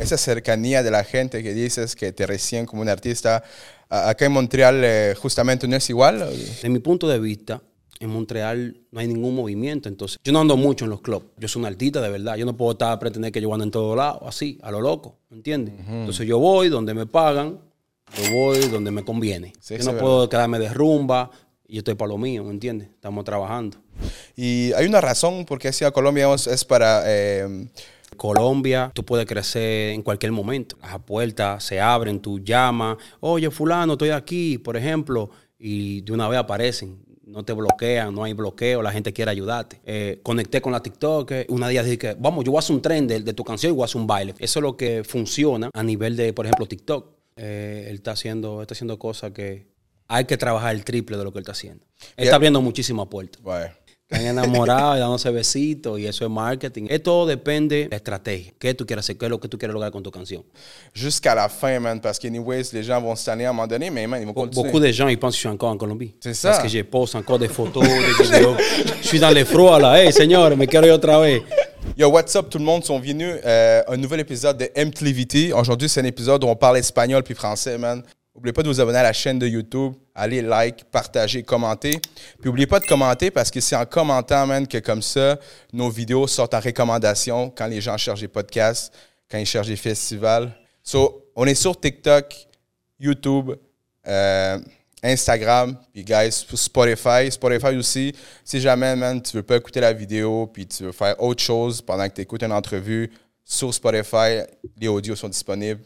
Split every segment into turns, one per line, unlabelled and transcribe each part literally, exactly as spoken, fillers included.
esa cercanía de la gente que dices que te reciben como un artista, acá en Montreal eh, justamente no es igual.
De mi punto de vista, en Montreal no hay ningún movimiento, entonces yo no ando mucho en los clubs. Yo soy un artista de verdad. Yo no puedo estar a pretender que yo ando en todos lados, así, a lo loco, ¿me entiendes? Uh-huh. Entonces yo voy donde me pagan, yo voy donde me conviene. Sí, yo no sí, puedo verdad. quedarme de rumba y yo estoy para lo mío, ¿me entiendes? Estamos trabajando.
Y hay una razón por qué hacia Colombia es para... Eh...
Colombia, tú puedes crecer en cualquier momento. Las puertas se abren, tú llamas, oye, fulano, estoy aquí, por ejemplo, y de una vez aparecen. No te bloquean, no hay bloqueo, la gente quiere ayudarte. Eh, conecté con la TikTok, una día dije que, vamos, yo voy a hacer un tren de, de tu canción y voy a hacer un baile. Eso es lo que funciona a nivel de, por ejemplo, TikTok. Eh, él está haciendo, está haciendo cosas que hay que trabajar el triple de lo que él está haciendo. Él yeah. está abriendo muchísimas puertas.
Bueno.
Están enamorados y dándose besitos y eso es marketing. Esto depende de la estrategia. ¿Qué tú quieres hacer? ¿Qué es lo que tú quieres lograr con tu canción?
Jusqu'à la fin, man, parce que anyways, les gens vont se tanner à un moment donné, mais man, ils vont continuer.
Beaucoup de gens, ils pensent que je suis encore en Colombie.
C'est ça.
Parce que je poste encore des photos, des vidéos. Je suis dans les froids, là. Hey, señores, me quiero ir otra vez.
Yo, what's up tout le monde? Sont venus euh, un nouvel épisode de M T V T. Aujourd'hui, c'est un épisode où on parle espagnol puis français, man. N'oubliez pas de vous abonner à la chaîne de YouTube. Allez, like, partagez, commentez. Puis n'oubliez pas de commenter parce que c'est en commentant, man, que comme ça, nos vidéos sortent en recommandation quand les gens cherchent des podcasts, quand ils cherchent des festivals. So, on est sur TikTok, YouTube, euh, Instagram, puis guys, Spotify. Spotify aussi, si jamais, man, tu veux pas écouter la vidéo puis tu veux faire autre chose pendant que tu écoutes une entrevue, sur Spotify, les audios sont disponibles.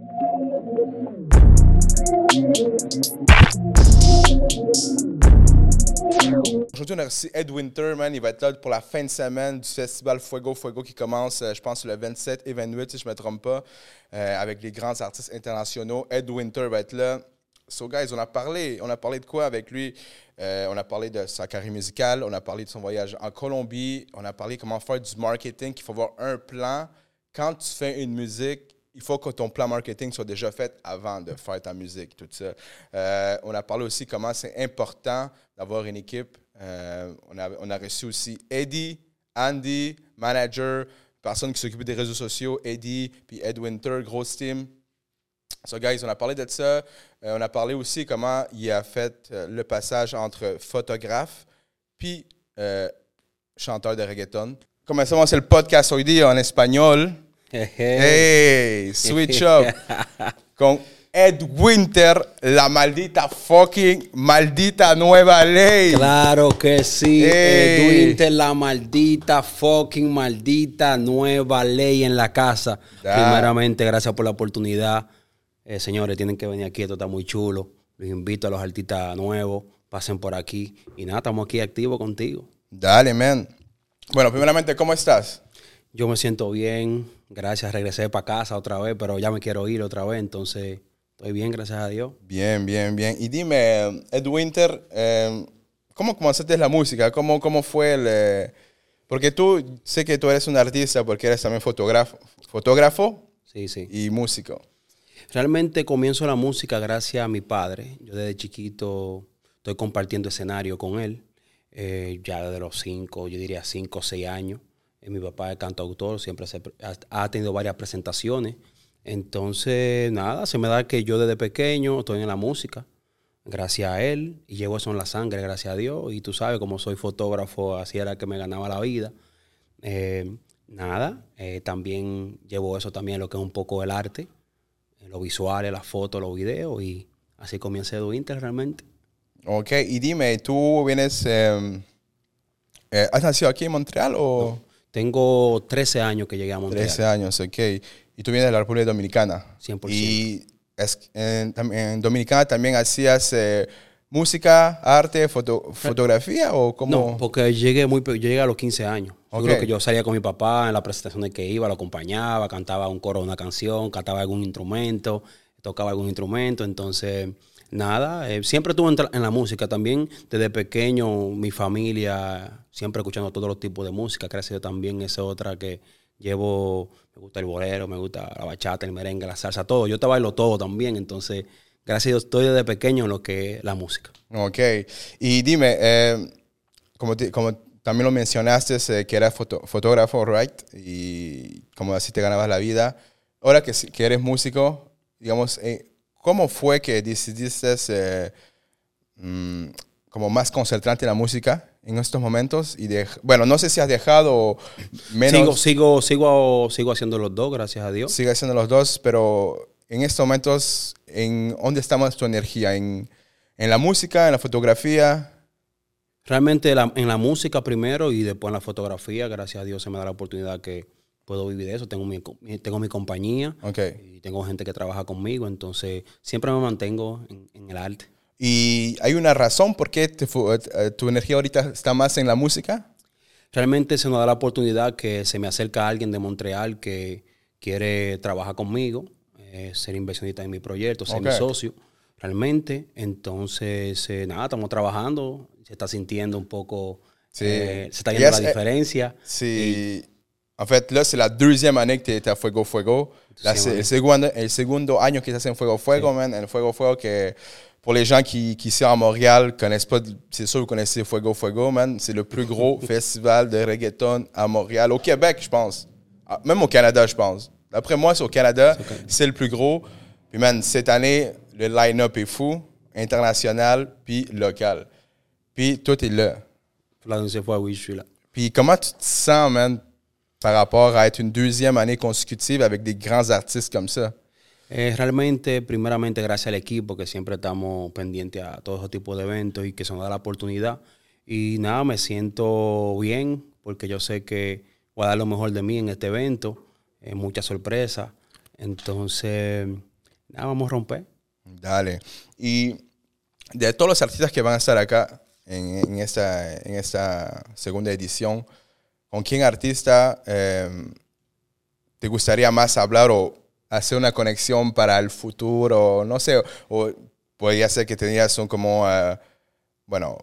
Aujourd'hui, on a reçu Ed Winter, man. Il va être là pour la fin de semaine du festival Fuego Fuego qui commence, je pense, le vingt-sept et vingt-huit, si je ne me trompe pas, euh, avec les grands artistes internationaux. Ed Winter va être là. So, guys, on a parlé, on a parlé de quoi avec lui? Euh, on a parlé de sa carrière musicale, on a parlé de son voyage en Colombie, on a parlé comment faire du marketing, qu'il faut avoir un plan. Quand tu fais une musique, il faut que ton plan marketing soit déjà fait avant de faire ta musique, tout ça. Euh, on a parlé aussi comment c'est important d'avoir une équipe. Euh, on, a, on a reçu aussi Eddie, Andy, manager, personne qui s'occupe des réseaux sociaux, Eddie, puis Ed Winter, grosse team. So, guys, on a parlé de ça. Euh, on a parlé aussi comment il a fait euh, le passage entre photographe puis euh, chanteur de reggaeton. Commençons, c'est le podcast hoy en espagnol. Hey, switch up con Ed Winter, la maldita fucking maldita nueva ley.
Claro que sí, hey. Ed Winter, la maldita fucking maldita nueva ley en la casa. Da. Primeramente, gracias por la oportunidad. Eh, señores, tienen que venir aquí, esto está muy chulo. Los invito a los artistas nuevos, pasen por aquí. Y nada, estamos aquí activos contigo.
Dale, man. Bueno, primeramente, ¿cómo estás?
Yo me siento bien, gracias, regresé para casa otra vez, pero ya me quiero ir otra vez, entonces estoy bien, gracias a Dios.
Bien, bien, bien. Y dime, Ed Winter, eh, ¿cómo comenzaste la música? ¿Cómo, cómo fue el...? Eh, porque tú, sé que tú eres un artista porque eres también fotógrafo, fotógrafo
sí, sí.
y músico.
Realmente comienzo la música gracias a mi padre. Yo desde chiquito estoy compartiendo escenario con él, eh, ya desde los cinco, yo diría cinco o seis años. Mi papá es cantautor, siempre se, ha tenido varias presentaciones. Entonces, nada, se me da que yo desde pequeño estoy en la música, gracias a él, y llevo eso en la sangre, gracias a Dios. Y tú sabes, como soy fotógrafo, así era que me ganaba la vida. Eh, nada, eh, también llevo eso también, lo que es un poco el arte, los visuales, las fotos, los videos, y así comienza Ed Winter realmente.
Ok, y dime, ¿tú vienes, eh, eh, has nacido aquí en Montreal o...?
No. Tengo trece años que llegué a Montreal.
trece años, ok. Y tú vienes de la República Dominicana.
cien por ciento.
Y es, en, en Dominicana también hacías eh, música, arte, foto, fotografía o cómo?
No, porque llegué muy, yo llegué a los quince años. Okay. Yo, que yo salía con mi papá en las presentaciones que iba, lo acompañaba, cantaba un coro, una canción, cantaba algún instrumento, tocaba algún instrumento, entonces... Nada, eh, siempre estuve en, en la música también. Desde pequeño, mi familia, siempre escuchando todos los tipos de música. Gracias a Dios también, esa otra que llevo, me gusta el bolero, me gusta la bachata, el merengue, la salsa, todo. Yo te bailo todo también, entonces, gracias a Dios, estoy desde pequeño en lo que es la música.
Ok, y dime, eh, como, te, como también lo mencionaste, eh, que eras foto, fotógrafo, right? Y como así te ganabas la vida. ahora que, que eres músico, digamos, eh, ¿cómo fue que decidiste eh, mm, como más concentrarte en la música en estos momentos? Y de, bueno, no sé si has dejado menos...
Sigo, sigo, sigo, sigo haciendo los dos, gracias a Dios.
Sigue haciendo los dos, pero en estos momentos, ¿en dónde está más tu energía? ¿En, en la música, en la fotografía?
Realmente la, en la música primero y después en la fotografía, gracias a Dios se me da la oportunidad que puedo vivir de eso. Tengo mi, tengo mi compañía
Okay.
y tengo gente que trabaja conmigo, entonces siempre me mantengo en, en el arte.
¿Y hay una razón por qué te, tu energía ahorita está más en la música?
Realmente se nos da la oportunidad que se me acerca alguien de Montreal que quiere trabajar conmigo, eh, ser inversionista en mi proyecto, ser
Okay.
mi socio, realmente. Entonces, eh, nada, estamos trabajando, se está sintiendo un poco,
Sí.
eh, se está viendo
Yes,
la diferencia.
Eh, sí. En fait, là, c'est la deuxième année que tu es à Fuego Fuego. Là, c'est le segundo, el segundo año que estás en Fuego Fuego, sí. Man. El Fuego Fuego que... Pour les gens qui, qui ici à Montréal connaissent pas, c'est sûr que vous connaissez Fuego Fuego, man. C'est le plus gros festival de reggaeton à Montréal. Au Québec, je pense. Même au Canada, je pense. D'après moi, c'est au Canada, c'est, c'est le plus gros. Puis, man, cette année, le line-up est fou, international, puis local. Puis, toi, t'es là.
La deuxième fois, oui, je suis là.
Puis, comment tu te sens, man, par rapport à être une deuxième année consécutive avec des grands artistes comme ça?
Eh, realmente, primeramente, gracias al equipo que siempre estamos pendientes a todo ese tipo de eventos y que se nos da la oportunidad. Y nada, me siento bien porque yo sé que voy a dar lo mejor de mí en este evento. Eh, mucha sorpresa. Entonces, nada, vamos a romper.
Dale. Y de todos los artistas que van a estar acá en, en, esta, en esta segunda edición, ¿con quién artista eh, te gustaría más hablar o hacer una conexión para el futuro? No sé, o, o podría ser que tenías un como, uh, bueno,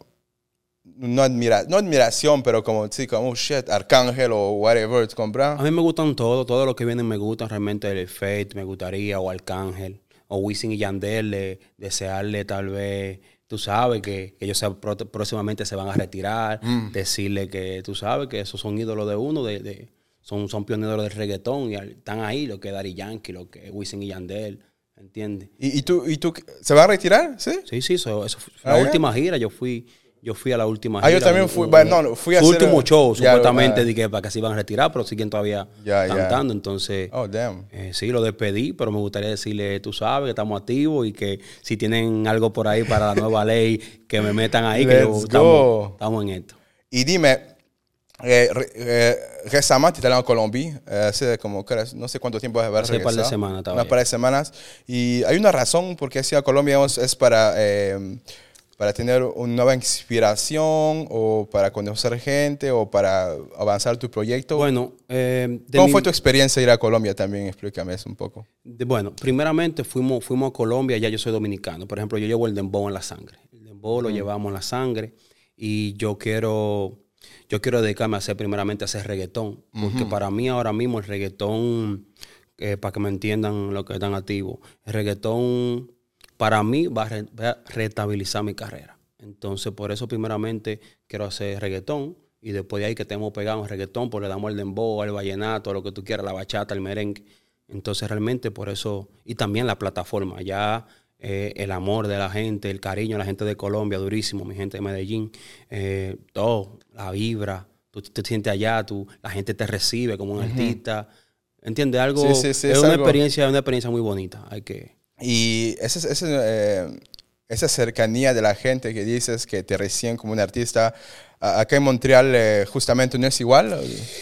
no, admira, no admiración, pero como, sí, como, oh, shit, Arcángel o whatever, ¿te compras?
A mí me gustan todos, todo lo que vienen me gustan, realmente el Fate me gustaría, o Arcángel, o Wisin y Yandel, de, desearle tal vez, tú sabes, que, que ellos se, próximamente se van a retirar, mm. decirle que tú sabes que esos son ídolos de uno, de... de Son, son pioneros del reggaetón y están ahí, lo que es Daddy Yankee, lo que es Wisin y Yandel, ¿entiendes?
¿Y, y, tú, ¿Y tú se va a retirar? Sí,
sí, sí, eso, eso fue la ah, última yeah. gira, yo fui, yo fui a la última
ah,
gira.
Ah, yo también fui, un, bueno, no, fui a
su
hacer...
último show,
yeah,
supuestamente,
uh,
de que para que se iban a retirar, pero siguen todavía
yeah,
cantando,
yeah.
entonces...
Oh, damn.
Eh, sí, lo despedí, pero me gustaría decirle, tú sabes, que estamos activos y que si tienen algo por ahí para la nueva ley, que me metan ahí, que yo, estamos, estamos en esto.
Y dime... Eh, eh, récemment, tu es allé en Colombie, eh, hace como, no sé cuánto tiempo has
regresado. Hace un par de semanas. Estaba
Una par de semanas. Y hay una razón por qué has ido a Colombia, es para, eh, para tener una nueva inspiración o para conocer gente o para avanzar tu proyecto.
Bueno, eh,
¿cómo mi... fue tu experiencia ir a Colombia también? Explícame eso un poco.
De, bueno, primeramente fuimos, fuimos a Colombia, ya yo soy dominicano. Por ejemplo, yo llevo el dembow en la sangre. El dembow mm. lo llevamos en la sangre y yo quiero... Yo quiero dedicarme a hacer primeramente a hacer reggaetón, porque uh-huh. para mí ahora mismo el reggaetón, eh, para que me entiendan lo que están activos, el reggaetón para mí va a, re, va a restabilizar mi carrera. Entonces por eso primeramente quiero hacer reggaetón y después de ahí que estemos pegados en reggaetón, pues le damos el dembow, el vallenato, lo que tú quieras, la bachata, el merengue. Entonces realmente por eso, y también la plataforma, ya... Eh, el amor de la gente, el cariño de la gente de Colombia, durísimo, mi gente de Medellín, eh, todo, la vibra, tú te sientes allá, tú, la gente te recibe como un uh-huh. artista, ¿entiendes? Algo, sí, sí, sí, es, es una algo... experiencia, una experiencia muy bonita, hay que...
Y ese, ese, eh, esa cercanía de la gente que dices que te reciben como un artista, acá en Montreal eh, justamente no es igual.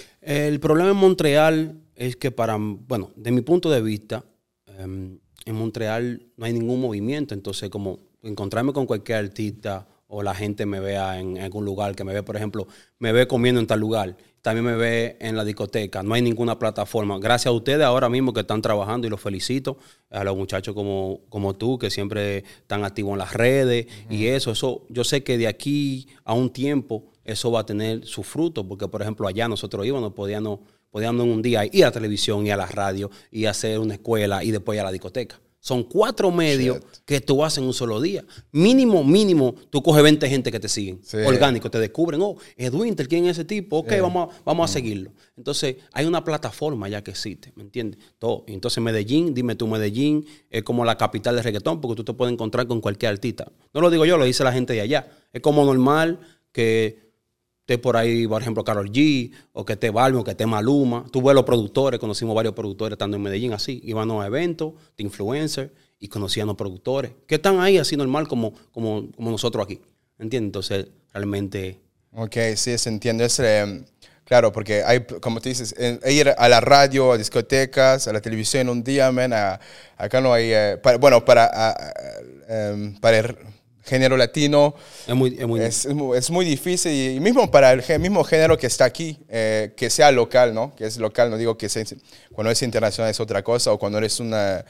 El problema en Montreal es que para, bueno, de mi punto de vista, eh, en Montreal no hay ningún movimiento, entonces como encontrarme con cualquier artista o la gente me vea en algún lugar, que me ve, por ejemplo, me ve comiendo en tal lugar, también me ve en la discoteca, no hay ninguna plataforma. Gracias a ustedes ahora mismo que están trabajando y los felicito, a los muchachos como, como tú que siempre están activos en las redes uh-huh. y eso, eso, yo sé que de aquí a un tiempo eso va a tener su fruto, porque por ejemplo allá nosotros íbamos, podíamos... Podíamos en un día ir a la televisión y a la radio y hacer una escuela y después ir a la discoteca. Son cuatro medios
Shit.
que tú haces en un solo día. Mínimo, mínimo, tú coges veinte gente que te siguen.
Sí.
Orgánico, te descubren. Oh, Edwinter, ¿quién es ese tipo? Ok,
Sí.
vamos, a, vamos a seguirlo. Entonces, hay una plataforma ya que existe, ¿me entiendes? Todo. Entonces, Medellín, dime tú, Medellín es como la capital del reggaetón porque tú te puedes encontrar con cualquier artista. No lo digo yo, lo dice la gente de allá. Es como normal que esté por ahí, por ejemplo, Karol G, o que esté Balvin, o que esté Maluma. Tú ves los productores, conocimos varios productores estando en Medellín así. Iban a eventos de influencers y conocían a los productores que están ahí así normal como, como, como nosotros aquí. ¿Entiendes? Entonces, realmente...
Ok, sí, se entiende. Es, eh, claro, porque hay, como te dices, en, ir a la radio, a discotecas, a la televisión un día, man, a, acá no hay... Eh, para, bueno, para, a, a, um, para el género latino
Es muy, es muy,
es, es muy, es muy difícil. Y mismo para el mismo género que está aquí, eh, que sea local, ¿no? Que es local, no digo que sea... Cuando es internacional es otra cosa, o cuando eres una...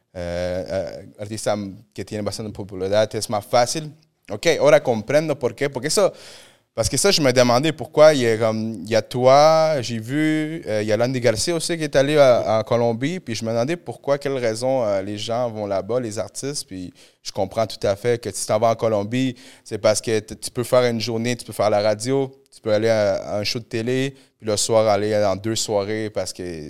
Uh, uh, artista que tiene bastante popularidad, es más fácil. Ok, ahora comprendo por qué. Porque eso, parce que ça, je me demandais pourquoi. Il y a, um, il y a toi, j'ai vu, uh, il y a Landy Garcia aussi qui est allé à, en Colombie. Puis je me demandais pourquoi, quelle raison uh, les gens vont là-bas, les artistes. Puis je comprends tout à fait que si tu t'en vas en Colombie, c'est parce que tu peux faire une journée, tu peux faire la radio, tu peux aller à, à un show de télé, puis le soir aller dans deux soirées parce que.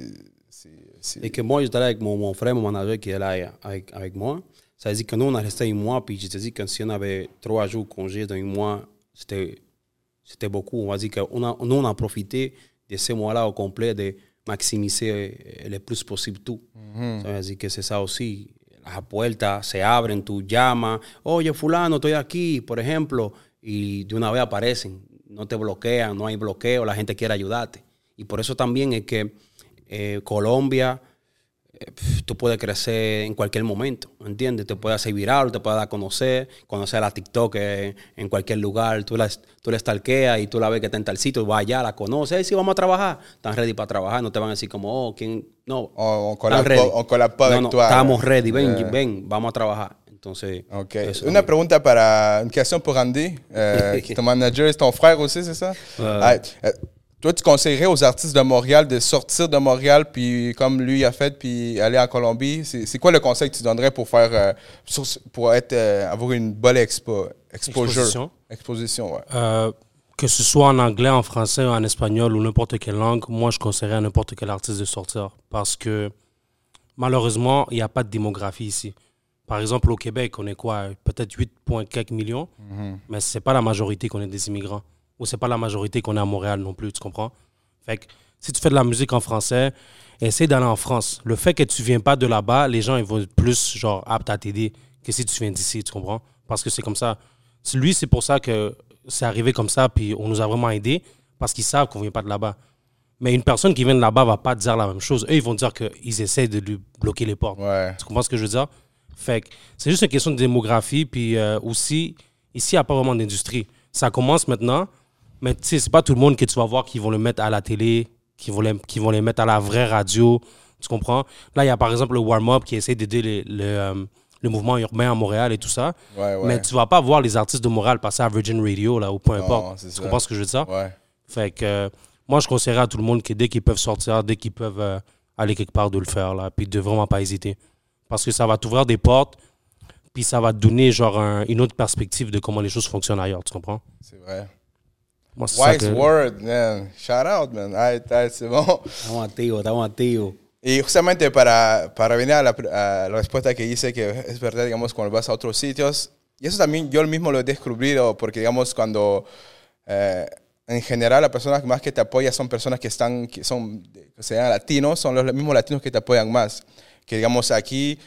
Et que moi, j'étais avec mon, mon frère, mon manager qui est là avec, avec moi. Ça veut dire que nous, on a resté un mois, puis je te dis que si on avait trois jours de congé dans un mois, c'était, c'était beaucoup. On va dire que on a, nous, on a profité de ce mois-là au complet de maximiser le plus possible tout. Mm-hmm. Ça veut dire que c'est ça aussi. Las puertas se abren, tú llamas, oye, fulano, estoy aquí, por ejemplo, y de una vez aparecen. No te bloquean, no hay bloqueo, la gente quiere ayudarte. Y por eso también es que Eh, Colombia, eh, tú puedes crecer en cualquier momento, ¿entiendes? Te puedes hacer viral, te puedes dar a conocer, conocer a la TikTok eh, en cualquier lugar. Tú la, tú la stalkeas y tú la ves que está en tal sitio, vas allá, la conoces, hey, sí, vamos a trabajar. Están ready para trabajar, no te van a decir como, oh, ¿quién? No,
on collabore pas
no,
avec
no,
toi.
Estamos ready, ven, yeah. ven, vamos a trabajar. Entonces,
okay. Una pregunta para, une question pour Andy, euh, ton manager, c'est ton frère aussi, c'est ça?
Euh,
ah, euh, Toi, tu conseillerais aux artistes de Montréal de sortir de Montréal, puis comme lui a fait, puis aller en Colombie? C'est, c'est quoi le conseil que tu donnerais pour faire, euh, pour être, euh, avoir une bonne expo, exposure?
Exposition.
Exposition, ouais.
Euh, que ce soit en anglais, en français, en espagnol ou n'importe quelle langue, moi, je conseillerais à n'importe quel artiste de sortir. Parce que, malheureusement, il n'y a pas de démographie ici. Par exemple, au Québec, on est quoi? Peut-être huit virgule quelques millions, mm-hmm. mais ce n'est pas la majorité qu'on est des immigrants. Ou c'est pas la majorité qu'on est à Montréal non plus, tu comprends? Fait que si tu fais de la musique en français, essaie d'aller en France. Le fait que tu viens pas de là-bas, les gens ils vont être plus genre aptes à t'aider que si tu viens d'ici, tu comprends? Parce que c'est comme ça. Lui, c'est pour ça que c'est arrivé comme ça, puis on nous a vraiment aidés, parce qu'ils savent qu'on vient pas de là-bas. Mais une personne qui vient de là-bas va pas dire la même chose. Eux, ils vont dire qu'ils essaient de lui bloquer les portes.
Ouais.
Tu comprends ce que je veux dire? Fait que c'est juste une question de démographie, puis euh, aussi, ici, il n'y a pas vraiment d'industrie. Ça commence maintenant. Mais tu sais, c'est pas tout le monde que tu vas voir qui vont le mettre à la télé, qui vont les, qui vont les mettre à la vraie radio. Tu comprends? Là, il y a par exemple le Warm-Up qui essaie d'aider les, le, euh, le mouvement urbain à Montréal et tout ça.
Ouais, ouais.
Mais tu vas pas voir les artistes de Montréal passer à Virgin Radio là, ou peu importe. Tu
ça.
comprends ce que je veux dire?
Ouais.
Fait que euh, moi, je conseillerais à tout le monde que dès qu'ils peuvent sortir, dès qu'ils peuvent euh, aller quelque part, de le faire, là, puis de vraiment pas hésiter. Parce que ça va t'ouvrir des portes, puis ça va te donner genre un, une autre perspective de comment les choses fonctionnent ailleurs. Tu comprends?
C'est vrai.
Moi, c'est
Wise
ça que...
word, man. Shout out, man. Ay, ay, c'est bon.
Estamos activos, estamos activos.
Y justamente para, para venir a la, a la respuesta que hice, que es verdad, digamos, cuando vas a otros sitios, y eso también yo mismo lo he descubierto, porque, digamos, cuando eh, en general las personas más que te apoyan son personas que están, que son, que sean latinos, son los mismos latinos que te apoyan más. Que, digamos, aquí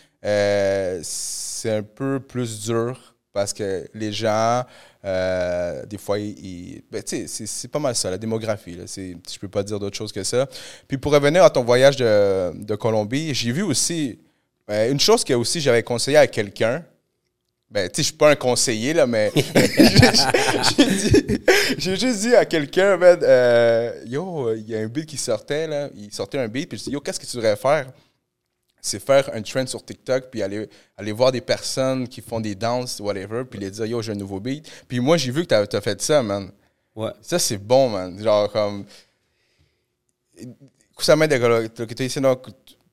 eh, c'est un peu plus dur, parce que les gens, euh, des fois, ils, ben, c'est, c'est pas mal ça, la démographie. Là, c'est, je peux pas dire d'autre chose que ça. Puis pour revenir à ton voyage de, de Colombie, j'ai vu aussi, euh, une chose que aussi j'avais conseillé à quelqu'un. Ben, tu sais, je suis pas un conseiller, là, mais j'ai, dit, j'ai juste dit à quelqu'un, ben, euh, yo, il y a un beat qui sortait, là, il sortait un beat, puis je dis, yo, qu'est-ce que tu devrais faire? C'est faire un trend sur TikTok, puis aller, aller voir des personnes qui font des danses, whatever, puis les dire, yo, j'ai un nouveau beat. Puis moi, j'ai vu que t'as, t'as fait ça, man.
Ouais.
Ça, c'est bon, man. Genre, comme... Justamente lo que estoy diciendo,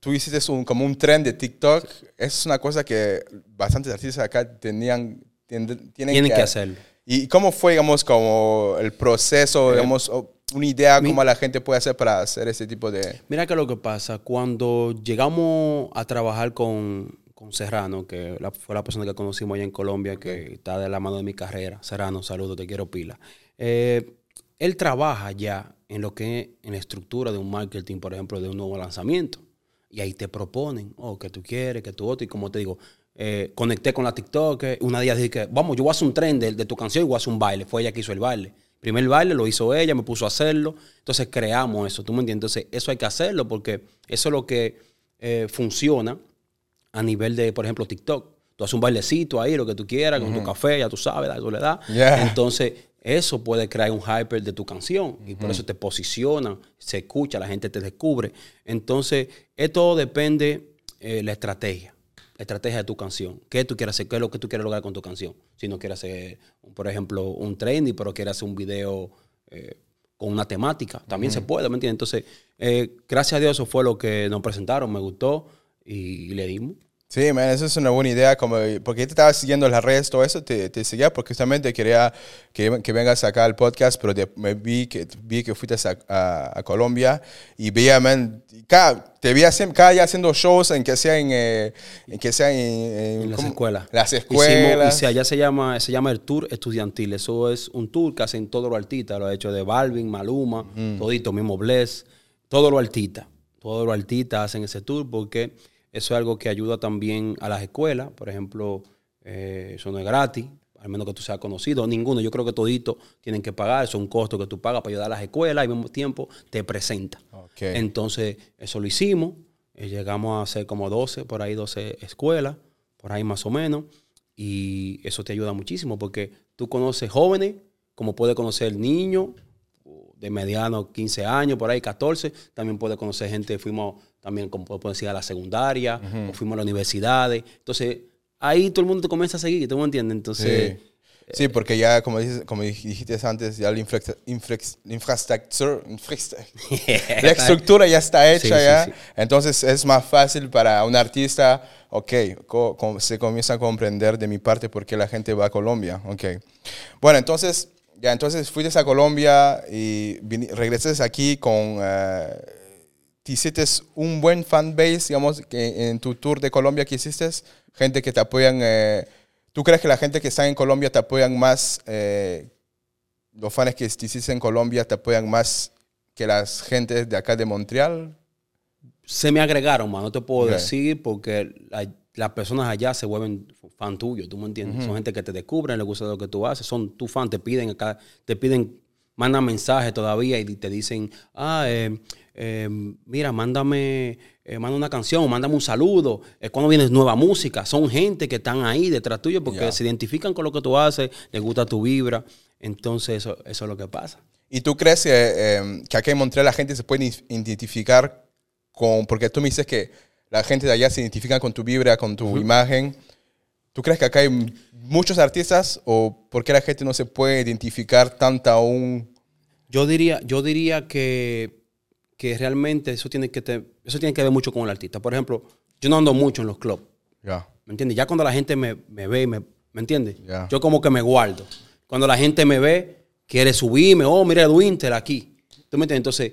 tú hiciste un, como un trend de TikTok. Es una cosa que bastantes artistas acá tenían, tienen,
tienen que, que hacerlo.
¿Y cómo fue, digamos, como el proceso, eh, digamos, una idea mi, cómo la gente puede hacer para hacer ese tipo de...?
Mira que lo que pasa, cuando llegamos a trabajar con, con Serrano, que la, fue la persona que conocimos allá en Colombia, que está de la mano de mi carrera. Serrano, saludos, te quiero pila. Eh, él trabaja ya en lo que es en la estructura de un marketing, por ejemplo, de un nuevo lanzamiento. Y ahí te proponen, oh, que tú quieres, que tú otro. Y como te digo, eh, conecté con la TikTok. Una día dije que, vamos, yo voy a hacer un tren de, de tu canción y voy a hacer un baile. Fue ella que hizo el baile. Primer baile lo hizo ella, me puso a hacerlo. Entonces creamos eso, ¿tú me entiendes? Entonces eso hay que hacerlo porque eso es lo que eh, funciona a nivel de, por ejemplo, TikTok. Tú haces un bailecito ahí, lo que tú quieras, con uh-huh. tu café, ya tú sabes, la soledad. Yeah. Entonces eso puede crear un hyper de tu canción y uh-huh. por eso te posicionan, se escucha, la gente te descubre. Entonces, esto depende de eh, la estrategia, la estrategia de tu canción. ¿Qué tú quieres hacer? ¿Qué es lo que tú quieres lograr con tu canción? Si no quieres hacer, por ejemplo, un trendy, pero quieres hacer un video eh, con una temática, también uh-huh. se puede, ¿me entiendes? Entonces, eh, gracias a Dios, eso fue lo que nos presentaron, me gustó y, y le dimos.
Sí, man, eso es una buena idea, como, porque yo te estaba siguiendo en las redes, todo eso, te, te seguía porque justamente quería que, que vengas acá al podcast, pero de, me vi que, vi que fuiste a, a, a Colombia y veía, man, cada, te veía siempre, cada día haciendo shows en que sea en, eh, en, que sea en, en,
en las escuelas.
Las escuelas.
Hicimos, y allá se llama, se llama el Tour Estudiantil, eso es un tour que hacen todos los artistas, lo ha hecho de Balvin, Maluma, mm. todito, mismo Bless, todos los artistas, todos los artistas hacen ese tour porque... Eso es algo que ayuda también a las escuelas. Por ejemplo, eh, eso no es gratis, al menos que tú seas conocido. Ninguno. Yo creo que toditos tienen que pagar. Eso es un costo que tú pagas para ayudar a las escuelas y al mismo tiempo te presenta. Okay. Entonces, eso lo hicimos. Eh, llegamos a hacer como doce, por ahí doce escuelas, por ahí más o menos. Y eso te ayuda muchísimo porque tú conoces jóvenes, como puedes conocer niños de mediano quince años, por ahí catorce. También puedes conocer gente, fuimos... También, como puedo decir, a la secundaria, uh-huh. o fuimos a las universidades. Entonces, ahí todo el mundo te comienza a seguir, ¿tú me entiendes? Entonces,
sí. sí, porque ya, como, dices, como dijiste antes, ya la infra- infra- infraestructura, la estructura ya está hecha, sí, ya. Sí, sí. Entonces, es más fácil para un artista, ok, co- co- se comienza a comprender de mi parte por qué la gente va a Colombia, ok. Bueno, entonces, ya, entonces fuiste a Colombia y vin- regresaste aquí con... Uh, ¿Te hiciste un buen fanbase, digamos, que en tu tour de Colombia que hiciste? Gente que te apoyan. Eh, ¿Tú crees que la gente que está en Colombia te apoyan más, eh, los fans que te hiciste en Colombia te apoyan más que las gentes de acá de Montreal?
Se me agregaron, man, no te puedo okay. decir, porque la, las personas allá se vuelven fan tuyos, ¿tú me entiendes? Uh-huh. Son gente que te descubren, les gusta lo que tú haces, son tus fans, te piden acá, te piden, mandan mensajes todavía y te dicen, ah, eh, Eh, mira, mándame, eh, manda una canción, mándame un saludo. Eh, cuando viene nueva música, son gente que están ahí detrás tuyo porque yeah. se identifican con lo que tú haces, les gusta tu vibra. Entonces, eso, eso es lo que pasa.
¿Y tú crees que, eh, que aquí en Montreal la gente se puede identificar con, porque tú me dices que la gente de allá se identifica con tu vibra, con tu uh-huh. imagen? ¿Tú crees que acá hay muchos artistas o por qué la gente no se puede identificar tanto aún?
Yo diría, yo diría que que realmente eso tiene que, te, eso tiene que ver mucho con el artista. Por ejemplo, yo no ando mucho en los clubs.
Yeah.
¿Me entiendes? Ya cuando la gente me, me ve, me, ¿me entiendes?
Yeah.
Yo como que me guardo. Cuando la gente me ve, quiere subirme. Oh, mira Edwinter aquí. ¿Tú me entiendes? Entonces,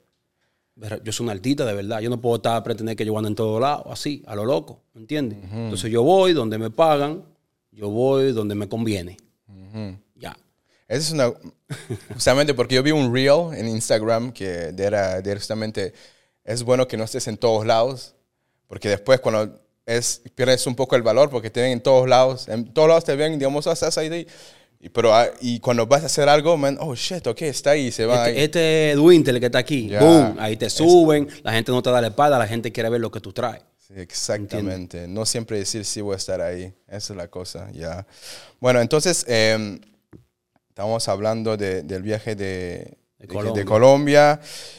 sí. yo soy un artista de verdad. Yo no puedo estar pretender que yo ando en todos lados, así, a lo loco. ¿Me entiendes? Uh-huh. Entonces yo voy donde me pagan, yo voy donde me conviene. Uh-huh. Ya.
Esa es una... Justamente porque yo vi un reel en Instagram que era, era justamente... Es bueno que no estés en todos lados, porque después cuando es, pierdes un poco el valor, porque te ven en todos lados. En todos lados te ven, digamos, oh, estás ahí. Y, pero, y cuando vas a hacer algo, man, oh, shit, ok, está ahí, se va
este,
ahí.
Este Edwinter, el que está aquí, yeah. boom, ahí te suben, es, la gente no te da la espalda, la gente quiere ver lo que tú traes.
Sí, exactamente. ¿Entiendes? No siempre decir sí voy a estar ahí. Esa es la cosa, ya. Yeah. Bueno, entonces... Eh, Estamos hablando de, del viaje de, de, Colombia. de Colombia.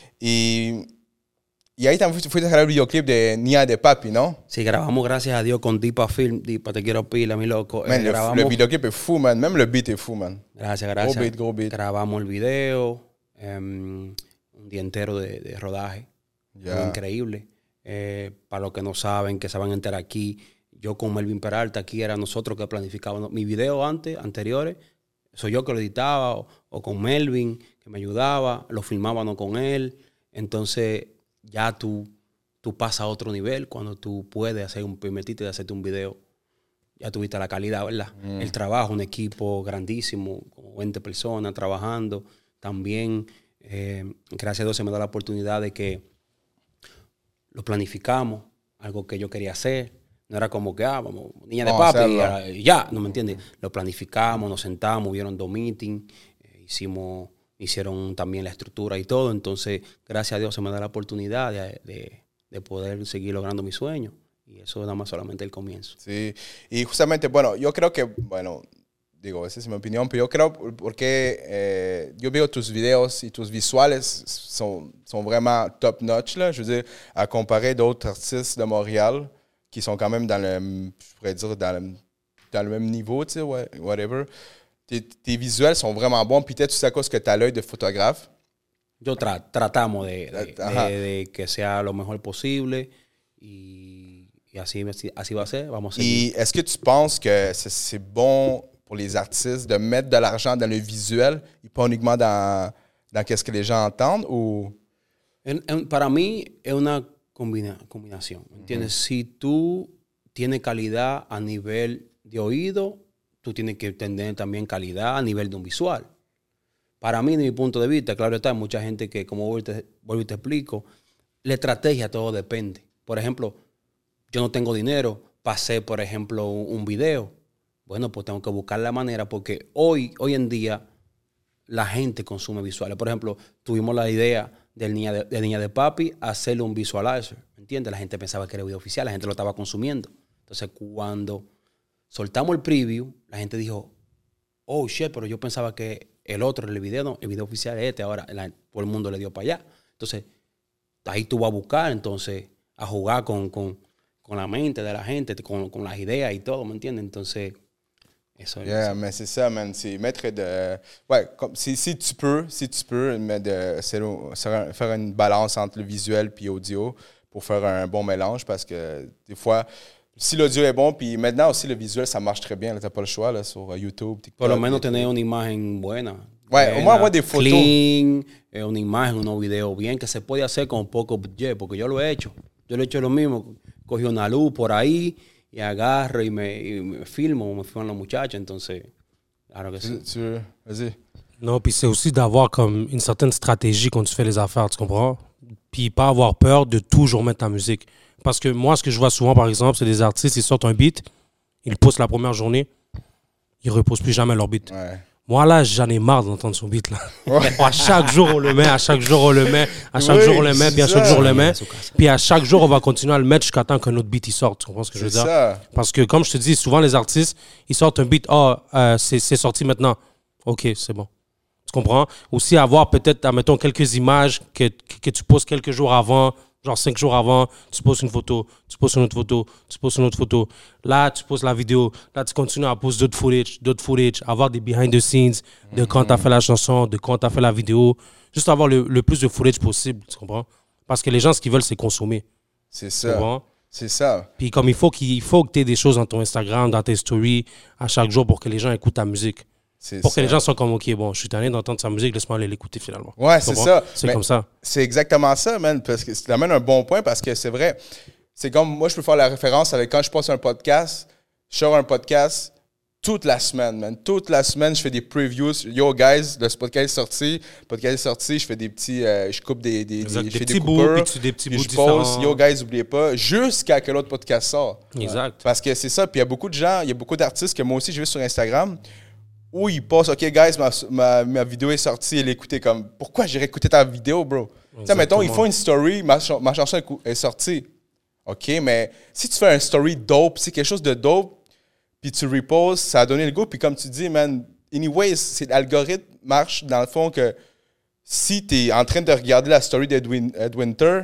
Y, y ahí también fuiste a grabar el videoclip de Nia de Papi, ¿no?
Sí, grabamos, gracias a Dios, con Dipa Film. Dipa, te quiero pila, mi loco.
Man,
eh,
le,
grabamos...
le videoclip es fou, man. Même le beat es fou, man.
Gracias, gracias.
Go beat, go beat.
Grabamos el video. Um, un día entero de, de rodaje. Yeah. Fue increíble. Eh, para los que no saben, que se van a enterar aquí, yo con Melvin Peralta, aquí era nosotros que planificábamos. Mis videos antes, anteriores, soy yo que lo editaba, o, o con Melvin, que me ayudaba, lo filmábamos con él. Entonces, ya tú, tú pasas a otro nivel cuando tú puedes hacer un, permitirte de hacerte un video. Ya tuviste la calidad, ¿verdad? Mm. El trabajo, un equipo grandísimo, como veinte personas trabajando. También, eh, gracias a Dios, se me da la oportunidad de que lo planificamos, algo que yo quería hacer. No era como que, ah, vamos, niña de
no,
papi, y ya, ¿no me entiendes? Lo planificamos, nos sentamos, hubieron dos meetings, eh, hicimos, hicieron también la estructura y todo. Entonces, gracias a Dios, se me da la oportunidad de, de, de poder seguir logrando mis sueños. Y eso es nada más solamente el comienzo.
Sí, y justamente, bueno, yo creo que, bueno, digo, esa es mi opinión, pero yo creo porque eh, yo veo tus videos y tus visuales sont, sont vraiment top notch, là. Je veux dire, à comparer d'autres artistes de Montréal qui sont quand même dans le, je pourrais dire, dans le, dans le même niveau, tu sais, whatever. Tes, tes visuels sont vraiment bons, puis peut-être c'est à cause que tu as l'œil de photographe.
Yo tra tratamos de, de, de, de que sea lo mejor posible y, y así, así va a ser. Vamos a
seguir. Et est-ce que tu penses que c'est bon pour les artistes de mettre de l'argent dans le visuel et pas uniquement dans, dans qu'est-ce que les gens entendent? Ou...
En, en, para mí es una combina, combinación, ¿entiendes? Uh-huh. Si tú tienes calidad a nivel de oído, tú tienes que tener también calidad a nivel de un visual. Para mí, de mi punto de vista, claro está, hay mucha gente que, como vuelvo y te, vuelvo y te explico, la estrategia todo depende. Por ejemplo, yo no tengo dinero para hacer, por ejemplo, un, un video. Bueno, pues tengo que buscar la manera porque hoy, hoy en día la gente consume visuales. Por ejemplo, tuvimos la idea del niña de, de Niña de Papi hacerle un visualizer, ¿entiendes? La gente pensaba que era video oficial, la gente lo estaba consumiendo. Entonces, cuando soltamos el preview, la gente dijo, oh, shit, pero yo pensaba que el otro, el video, no, el video oficial es este. Ahora la, todo el mundo le dio para allá. Entonces, ahí tú vas a buscar, entonces, a jugar con, con, con la mente de la gente, con, con las ideas y todo, ¿me entiendes? Entonces...
Eso, yeah, ça. Mais c'est ça, man. C'est mettre de... Ouais, comme, si, si tu peux, si tu peux, mettre de, faire une balance entre le visuel et l'audio pour faire un bon mélange parce que des fois, si l'audio est bon, puis maintenant aussi le visuel, ça marche très bien. Tu n'as pas le choix là, sur YouTube, TikTok.
Por lo menos tener una imagen buena.
Ouais, buena, au moins avoir des photos.
Clean, eh, una imagen, unos videos bien, que se puede hacer con poco budget, porque yo lo he hecho. Yo lo he hecho lo mismo. Cogí una luz por ahí, y agarro y me, y me filmo, me filman los muchachos, entonces, claro que sí.
Tu veux, vas-y.
Non, puis c'est aussi d'avoir comme une certaine stratégie quand tu fais les affaires, tu comprends? Puis pas avoir peur de toujours mettre ta musique. Parce que moi, ce que je vois souvent, par exemple, c'est des artistes, ils sortent un beat, ils postent la première journée, ils ne reposent plus jamais leur beat.
Ouais.
Moi, là, j'en ai marre d'entendre son beat, là. Ouais. À chaque jour, on le met, à chaque jour, on le met, à chaque oui, jour, on le met, puis à chaque jour, on le met. Puis à chaque jour, on va continuer à le mettre jusqu'à temps qu'un autre beat, il sorte. Tu comprends ce que je veux dire? Ça. Parce que, comme je te dis, souvent, les artistes, ils sortent un beat, oh, euh, c'est, c'est sorti maintenant. OK, c'est bon. Tu comprends? Aussi, avoir peut-être, admettons, quelques images que, que, que tu poses quelques jours avant, genre cinq jours avant, tu poses une photo, tu poses une autre photo, tu poses une autre photo. Là, tu poses la vidéo. Là, tu continues à poser d'autres footage, d'autres footage, avoir des behind the scenes de mm-hmm. quand tu as fait la chanson, de quand tu as fait la vidéo. Juste avoir le, le plus de footage possible, tu comprends? Parce que les gens, ce qu'ils veulent, c'est consommer.
C'est ça. C'est ça.
Puis comme il faut, qu'il faut que tu aies des choses dans ton Instagram, dans tes stories, à chaque jour pour que les gens écoutent ta musique. C'est pour ça. Que les gens soient comme, OK, bon, je suis tanné d'entendre sa musique, laisse-moi aller l'écouter finalement.
Ouais, c'est ça.
C'est comme ça.
C'est exactement ça, man. Parce que tu amènes un bon point parce que c'est vrai. C'est comme, moi, je peux faire la référence avec quand je passe un podcast, je sors un podcast toute la semaine, man. Toute la semaine, je fais des previews. Yo, guys, le podcast est sorti. Le podcast est sorti, je fais des petits, euh, je coupe des, des,
exact,
des,
des
je fais
petits
des coupeurs,
bouts, puis des petits
puis
bouts
je
différents.
pose, yo, guys, n'oubliez pas, jusqu'à que l'autre podcast sort.
Exact.
Parce que c'est ça. Puis il y a beaucoup de gens, il y a beaucoup d'artistes que moi aussi, je vais sur Instagram, où ils passent, OK, guys, ma, ma, ma vidéo est sortie, elle est écoutée comme, pourquoi j'irais écouter ta vidéo, bro? Tu sais, mettons, ils font une story, ma, ma chanson est sortie. OK, mais si tu fais un story dope, c'est quelque chose de dope, puis tu reposes, ça a donné le goût, puis comme tu dis, man, anyways, c'est l'algorithme marche dans le fond que si tu es en train de regarder la story d'Ed Winter,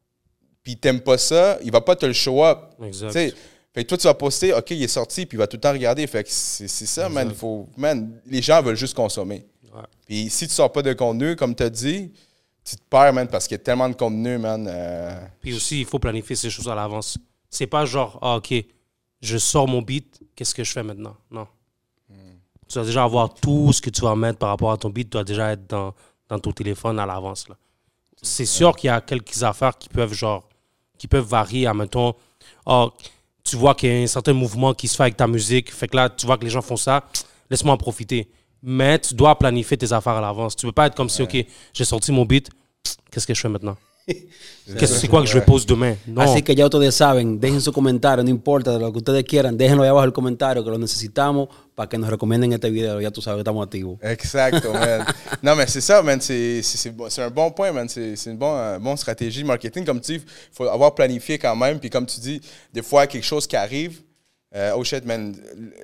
puis t'aimes pas ça, il va pas te le show up.
Exact.
T'sais, fait que toi, tu vas poster, OK, il est sorti, puis il va tout le temps regarder. Fait que c'est, c'est ça, exact. man. Faut, man. Les gens veulent juste consommer. Ouais. Puis si tu sors pas de contenu, comme tu as dit, tu te perds, man, parce qu'il y a tellement de contenu, man. Euh...
Puis aussi, il faut planifier ces choses à l'avance. C'est pas genre, ah, OK, je sors mon beat, qu'est-ce que je fais maintenant? Non. Mm. Tu dois déjà avoir tout ce que tu vas mettre par rapport à ton beat, tu dois déjà être dans, dans ton téléphone à l'avance, là. C'est sûr qu'il y a quelques affaires qui peuvent, genre, qui peuvent varier. Admettons, oh, tu vois qu'il y a un certain mouvement qui se fait avec ta musique, fait que là, tu vois que les gens font ça, laisse-moi en profiter. Mais tu dois planifier tes affaires à l'avance. Tu ne peux pas être comme si, OK, j'ai sorti mon beat, qu'est-ce que je fais maintenant? Qu'est-ce, c'est quoi que je pose demain? No.
Así que ya ustedes saben, dejen su comentario, no importa de lo que ustedes quieran, déjenlo ahí abajo el comentario que lo necesitamos para que nos recomienden este video. Ya tú sabes que estamos activos.
Exacto, man. Non, mais c'est ça, man. C'est, c'est, c'est, c'est un bon point, man. C'est, c'est une bonne, euh, bonne stratégie de marketing. Comme tu dis, il faut avoir planifié quand même. Puis comme tu dis, des fois, quelque chose qui arrive, euh, oh shit, man,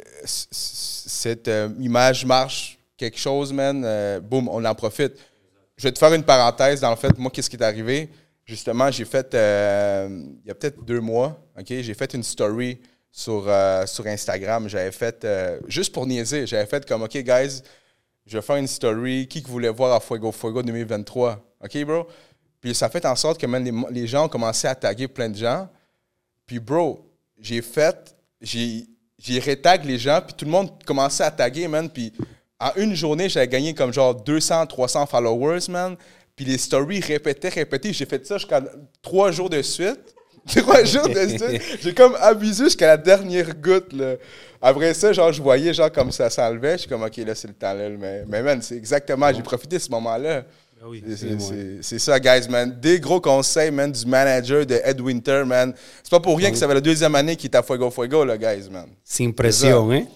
cette euh, image marche, quelque chose, man, euh, boum, on en profite. Je vais te faire une parenthèse. Dans le fait, moi, qu'est-ce qui est arrivé? Justement, j'ai fait, euh, il y a peut-être deux mois, OK, j'ai fait une story sur, euh, sur Instagram. J'avais fait, euh, juste pour niaiser, j'avais fait comme, OK, guys, je vais faire une story. Qui que voulait voir à Fuego Fuego deux mille vingt-trois? OK, bro? Puis ça fait en sorte que même les, les gens ont commencé à taguer plein de gens. Puis, bro, j'ai fait, j'ai, j'ai retag les gens, puis tout le monde commençait à taguer, man. Puis en une journée, j'avais gagné comme genre deux cents, trois cents followers, man. Puis les stories répétaient, répétaient. J'ai fait ça jusqu'à trois jours de suite. Trois jours de suite. J'ai comme abusé jusqu'à la dernière goutte, là. Après ça, genre, je voyais, genre, comme ça s'enlevait. Je suis comme, OK, là, c'est le temps, là. Mais, mais man, c'est exactement, j'ai profité de ce moment-là.
Ben oui,
c'est, c'est, c'est, c'est ça, guys, man. Des gros conseils, man, du manager de Ed Winter, man. C'est pas pour rien que ça fait la deuxième année qu'il est à Fuego Fuego, là, guys, man.
Sin pression, hein?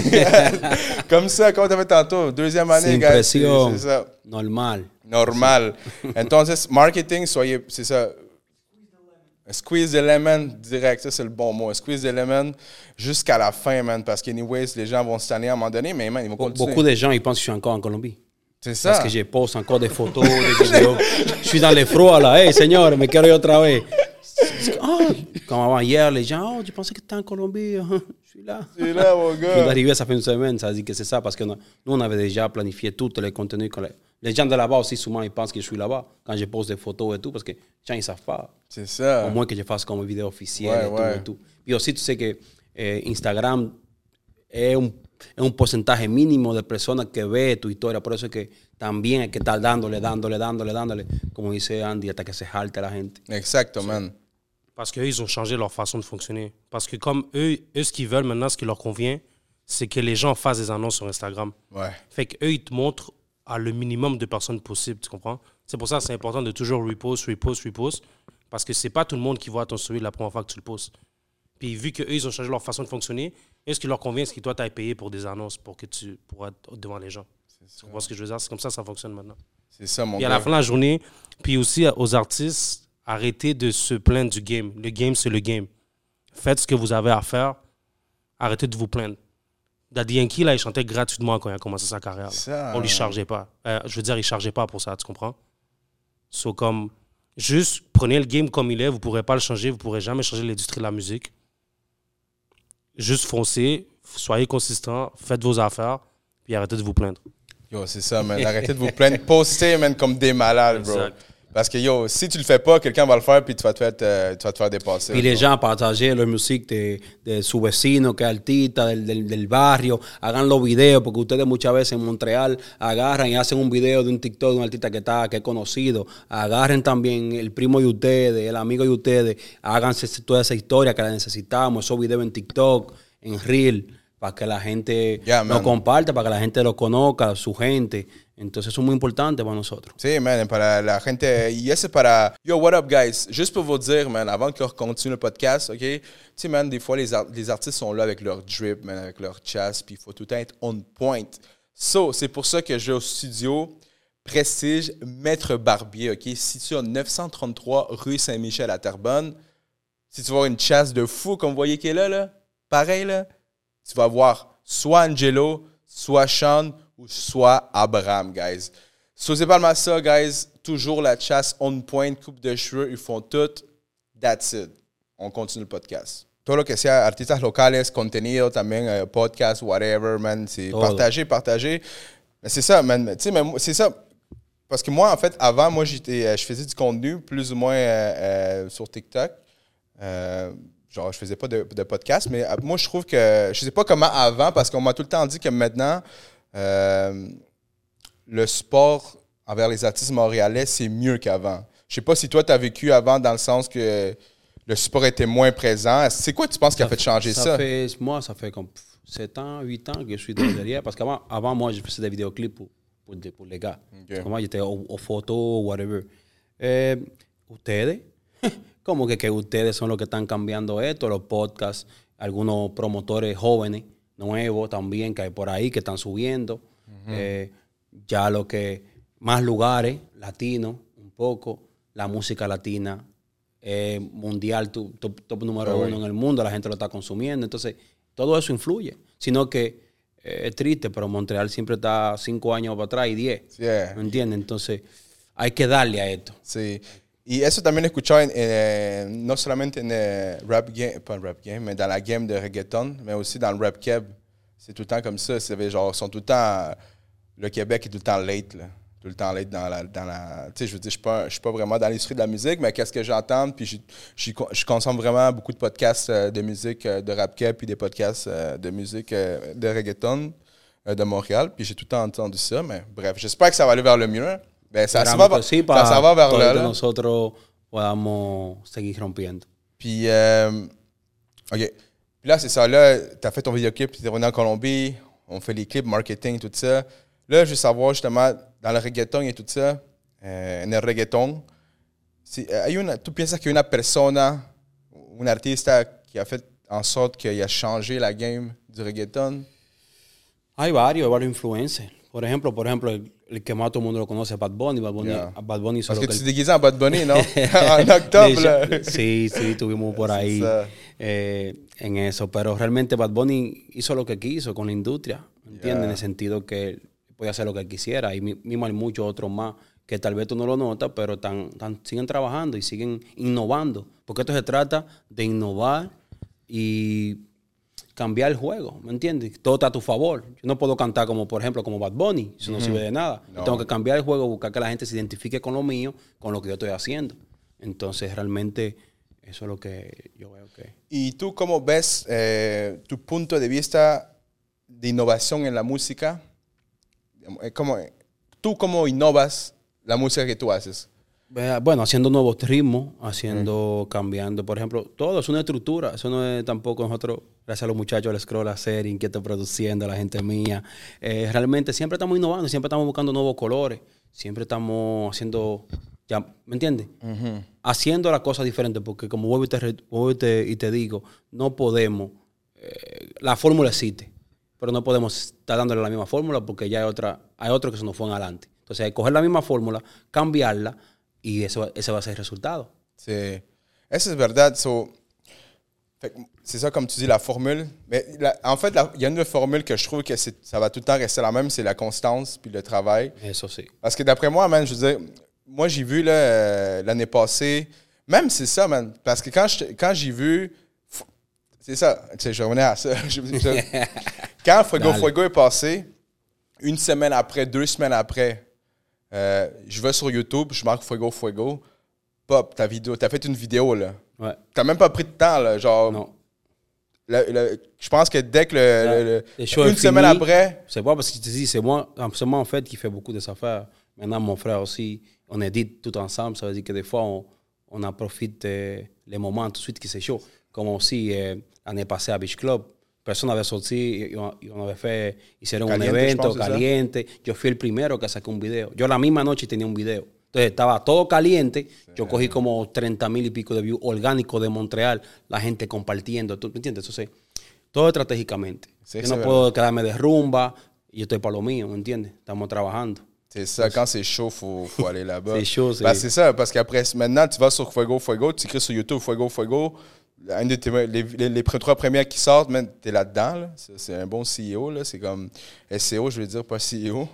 Comme ça, comme tu avais tantôt, deuxième année,
Sin
guys.
Pression.
C'est, c'est ça.
Normal.
Normal. Entonces, marketing, soyez, c'est ça. Squeeze the lemon, direct, ça c'est le bon mot. Squeeze the lemon jusqu'à la fin, man, parce qu'anyways, les gens vont se tanner à un moment donné, mais man, ils vont continuer.
Beaucoup de gens, ils pensent que je suis encore en Colombie.
C'est ça.
Parce que je poste encore des photos, des vidéos. Je suis dans les froids, là. Hey, señor, me quiero ir otra vez. Oh, comme avant hier, les gens, oh, je pensais que tu étais en Colombie. Je suis là.
Je suis là, mon
Je
gars.
suis arrivé, ça fait une semaine, ça dit que c'est ça, parce que nous, on avait déjà planifié tout les contenus. Les gens de là-bas aussi, souvent, ils pensent que je suis là-bas quand je poste des photos et tout, parce que les gens, ils ne savent pas.
C'est ça.
Au moins que je fasse comme vidéo officielle
ouais,
et,
ouais.
tout, et tout. Puis aussi, tu sais que eh, Instagram es un, es un porcentaje mínimo de personas que ve tu historia. Por eso es que también hay que estar dándole, dándole, dándole, dándole, como dice Andy, hasta que se jalte la gente.
Exacto, man.
Parce qu'eux, ils ont changé leur façon de fonctionner. Parce que comme eux, eux, ce qu'ils veulent maintenant, ce qui leur convient, c'est que les gens fassent des annonces sur Instagram.
Ouais.
Fait qu'eux, ils te montrent à le minimum de personnes possible, tu comprends? C'est pour ça que c'est important de toujours repost, repost, repost, parce que c'est pas tout le monde qui voit ton story la première fois que tu le postes. Puis vu qu'eux, ils ont changé leur façon de fonctionner, eux, ce qui leur convient, c'est que toi, tu as payé pour des annonces pour que tu pourras être devant les gens. Tu comprends ce que je veux dire? C'est comme ça que ça fonctionne maintenant.
C'est ça, mon
puis
gars.
à la fin de la journée, puis aussi aux artistes, arrêtez de se plaindre du game. Le game, c'est le game. Faites ce que vous avez à faire. Arrêtez de vous plaindre. Daddy Yankee, là, il chantait gratuitement quand il a commencé sa carrière.
Ça,
on lui chargeait pas. Euh, je veux dire, il chargeait pas pour ça, tu comprends? So, comme, juste prenez le game comme il est. Vous pourrez pas le changer. Vous pourrez jamais changer l'industrie de la musique. Juste foncez. Soyez consistant. Faites vos affaires. Puis arrêtez de vous plaindre.
Yo, c'est ça, man. Arrêtez de vous plaindre. Postez, man, comme des malades, bro.
Exact.
Parce que, yo, si tu le fais pas, quelqu'un va le faire, puis tu vas te faire, euh, tu vas te faire dépasser.
Y les gens partagent la música de, de su vecino, que es artista, del, del, del barrio. Hagan los videos, porque ustedes muchas veces en Montreal agarran y hacen un video de un TikTok de un artista que está que es conocido. Agarren también el primo de ustedes, el amigo de ustedes. Háganse toda esa historia que la necesitamos, esos videos en TikTok, en Reel, para que la gente
yeah,
lo comparta, para que la gente lo conozca, su gente. Entonces, eso es muy importante para nosotros.
Sí, man, para la gente. Y eso para. Yo, what up, guys? Juste pour vous dire, man, avant qu'on continue le podcast, OK? Tu sais, man, des fois, les, art- les artistes sont là avec leur drip, man, avec leur chasse, puis il faut tout le temps être on point. So, c'est pour ça que j'ai au studio Prestige Maître Barbier, OK? Situé au neuf cent trente-trois rue Saint-Michel à Terrebonne. Si tu vas voir une chasse de fou, comme vous voyez qui est là, là, pareil, là, tu vas voir soit Angelo, soit Sean, ou soit Abraham, guys. So, c'est pas mal ça, guys. Toujours la chasse on point, coupe de cheveux, ils font tout. That's it. On continue le podcast. Todo lo que sea artistas locales, contenido también, uh, podcast, whatever, man. C'est
Todo.
partager, partager. Mais c'est ça, man. Tu sais, mais c'est ça. parce que moi, en fait, avant, moi, j'étais, je faisais du contenu plus ou moins euh, euh, sur TikTok. Euh, genre, je faisais pas de, de podcast, mais euh, moi, je trouve que, je sais pas comment avant, parce qu'on m'a tout le temps dit que maintenant, euh, le sport envers les artistes montréalais, c'est mieux qu'avant. Je sais pas si toi, tu as vécu avant dans le sens que le sport était moins présent. C'est quoi, tu penses, qui a fait changer ça?
ça? Fait, moi, ça fait comme sept ans, huit ans que je suis derrière. Parce qu'avant, avant, moi, je faisais des vidéoclips pour, pour, pour les gars. Okay. Moi, j'étais au, au photo, whatever. Eh, ustedes, como que, que ustedes son los que están cambiando esto, los podcasts, algunos promotores jóvenes, nuevos también, que hay por ahí, que están subiendo. Uh-huh. eh, ya lo que, más lugares, latinos, un poco, la música latina. Eh, mundial, top, top, top número oh, uno en el mundo, la gente lo está consumiendo, entonces todo eso influye, sino que eh, es triste, pero Montreal siempre está cinco años para atrás y diez, yeah. ¿Me entiendes? Entonces hay que darle a esto.
Sí, y eso también he escuchado en, en, no solamente en el rap game, pas en rap game, mais dans la game de reggaeton, mais aussi dans le rap keb, c'est tout le temps comme ça, c'est genre, sont tout le temps, le Québec est tout le temps late, là. Tout le temps late dans la... Dans la tu sais, je veux dire, je ne suis pas vraiment dans l'industrie de la musique, mais qu'est-ce que j'entends, puis je, je, je consomme vraiment beaucoup de podcasts de musique de rap keb, puis des podcasts de musique de reggaeton de Montréal, puis j'ai tout le temps entendu ça, mais bref, j'espère que ça va aller vers le mieux. Ben, ça, ça, va,
sí,
ça, ça va vers là.
Que nosotros podamos seguir rompiendo.
Puis, euh, OK. Puis là, c'est ça, là, tu as fait ton vidéoclip, tu es revenu en Colombie, on fait les clips, marketing, tout ça. Là, je veux savoir justement, dans le reggaeton et tout ça, eh, en el reggaeton, si, hay una, ¿tú piensas que una persona, un artista qui a fait en sorte qu'il a changé la game du reggaeton?
Hay varios, hay varios influencers. Por ejemplo, por ejemplo el, el que más todo el mundo lo conoce es Bad Bunny. Bad Bunny, yeah. Bad Bunny
Parce que, que tu te
el...
déguises en Bad Bunny, ¿no? En octubre.
Sí, sí, estuvimos por ahí eh, en eso. Pero realmente Bad Bunny hizo lo que quiso con la industria, ¿entiendes? Yeah. En el sentido que podía hacer lo que quisiera. Y mismo hay muchos otros más que tal vez tú no lo notas, pero tan, tan, siguen trabajando y siguen innovando. Porque esto se trata de innovar y cambiar el juego, ¿me entiendes? Todo está a tu favor. Yo no puedo cantar como, por ejemplo, como Bad Bunny. Eso no mm-hmm. sirve de nada. No. Yo tengo que cambiar el juego, buscar que la gente se identifique con lo mío, con lo que yo estoy haciendo. Entonces, realmente, eso es lo que yo veo que...
¿Y tú cómo ves eh, tu punto de vista de innovación en la música? ¿Cómo, ¿Tú cómo innovas la música que tú haces?
Bueno, haciendo nuevos ritmos, haciendo, mm. cambiando. Por ejemplo, todo es una estructura. Eso no es tampoco nosotros, gracias a los muchachos del Scroll hacer, Inquieto produciendo, la gente mía. Eh, realmente siempre estamos innovando, siempre estamos buscando nuevos colores, siempre estamos haciendo, ya, ¿me entiendes? Uh-huh. Haciendo las cosas diferentes, porque como vuelvo y te, vuelvo y te, y te digo, no podemos, eh, la fórmula existe, pero no podemos estar dándole la misma fórmula porque ya hay otra, hay otros que se nos fueron adelante. Entonces hay que coger la misma fórmula, cambiarla, y eso, ese va a ser el resultado.
Sí, eso es verdad. So, c'est ça, comme tu dis, la formule. Mais la, en fait, il y a une formule que je trouve que ça va tout le temps rester la même, c'est la constance puis le travail.
Eso sí.
Parce que d'après moi, man, je veux dire, moi, j'ai vu là, euh, l'année passée, même c'est ça, man, parce que quand, je, quand j'ai vu, c'est ça, tu sais, je revenais à ça. Quand Fuego Fuego est passé, une semaine après, deux semaines après, Euh, je vais sur YouTube, je marque Fuego Fuego, pop, ta vidéo, t'as fait une vidéo, là.
Ouais.
T'as même pas pris de temps, là, genre...
Non.
Le, le, je pense que dès que le...
Là,
le,
le
une semaine fini, après...
C'est pas parce que je te dis, c'est moi, c'est moi, en fait, qui fait beaucoup des affaires. Maintenant, mon frère aussi, on édite tout ensemble, ça veut dire que des fois, on, on en profite euh, les moments tout de suite qui c'est chaud. Comme aussi, euh, l'année passée à Beach Club, personne avait sorti y on avait fait, hicieron caliente, un evento caliente. Yo fui el primero que saqué un video. Yo la misma noche tenía un video. Entonces estaba todo caliente. Sí. Yo cogí como treinta mil y pico de views orgánicos de Montreal. La gente compartiendo. ¿Tú me entiendes? Entonces, todo estratégicamente. Sí, yo no verdad. Puedo quedarme de rumba y yo estoy para lo mío, ¿me entiendes? Estamos trabajando.
C'est ça, quand c'est chaud, il faut, faut aller là-bas.
C'est chaud, c'est...
Ben, c'est ça, parce qu'après, maintenant, tu vas sur Fuego Fuego, tu écris sur YouTube Fuego Fuego. Un de tes, les, les, les trois premières qui sortent, tu es là-dedans. Là. C'est, c'est un bon C E O. Là. C'est comme S E O, je veux dire, pas C E O.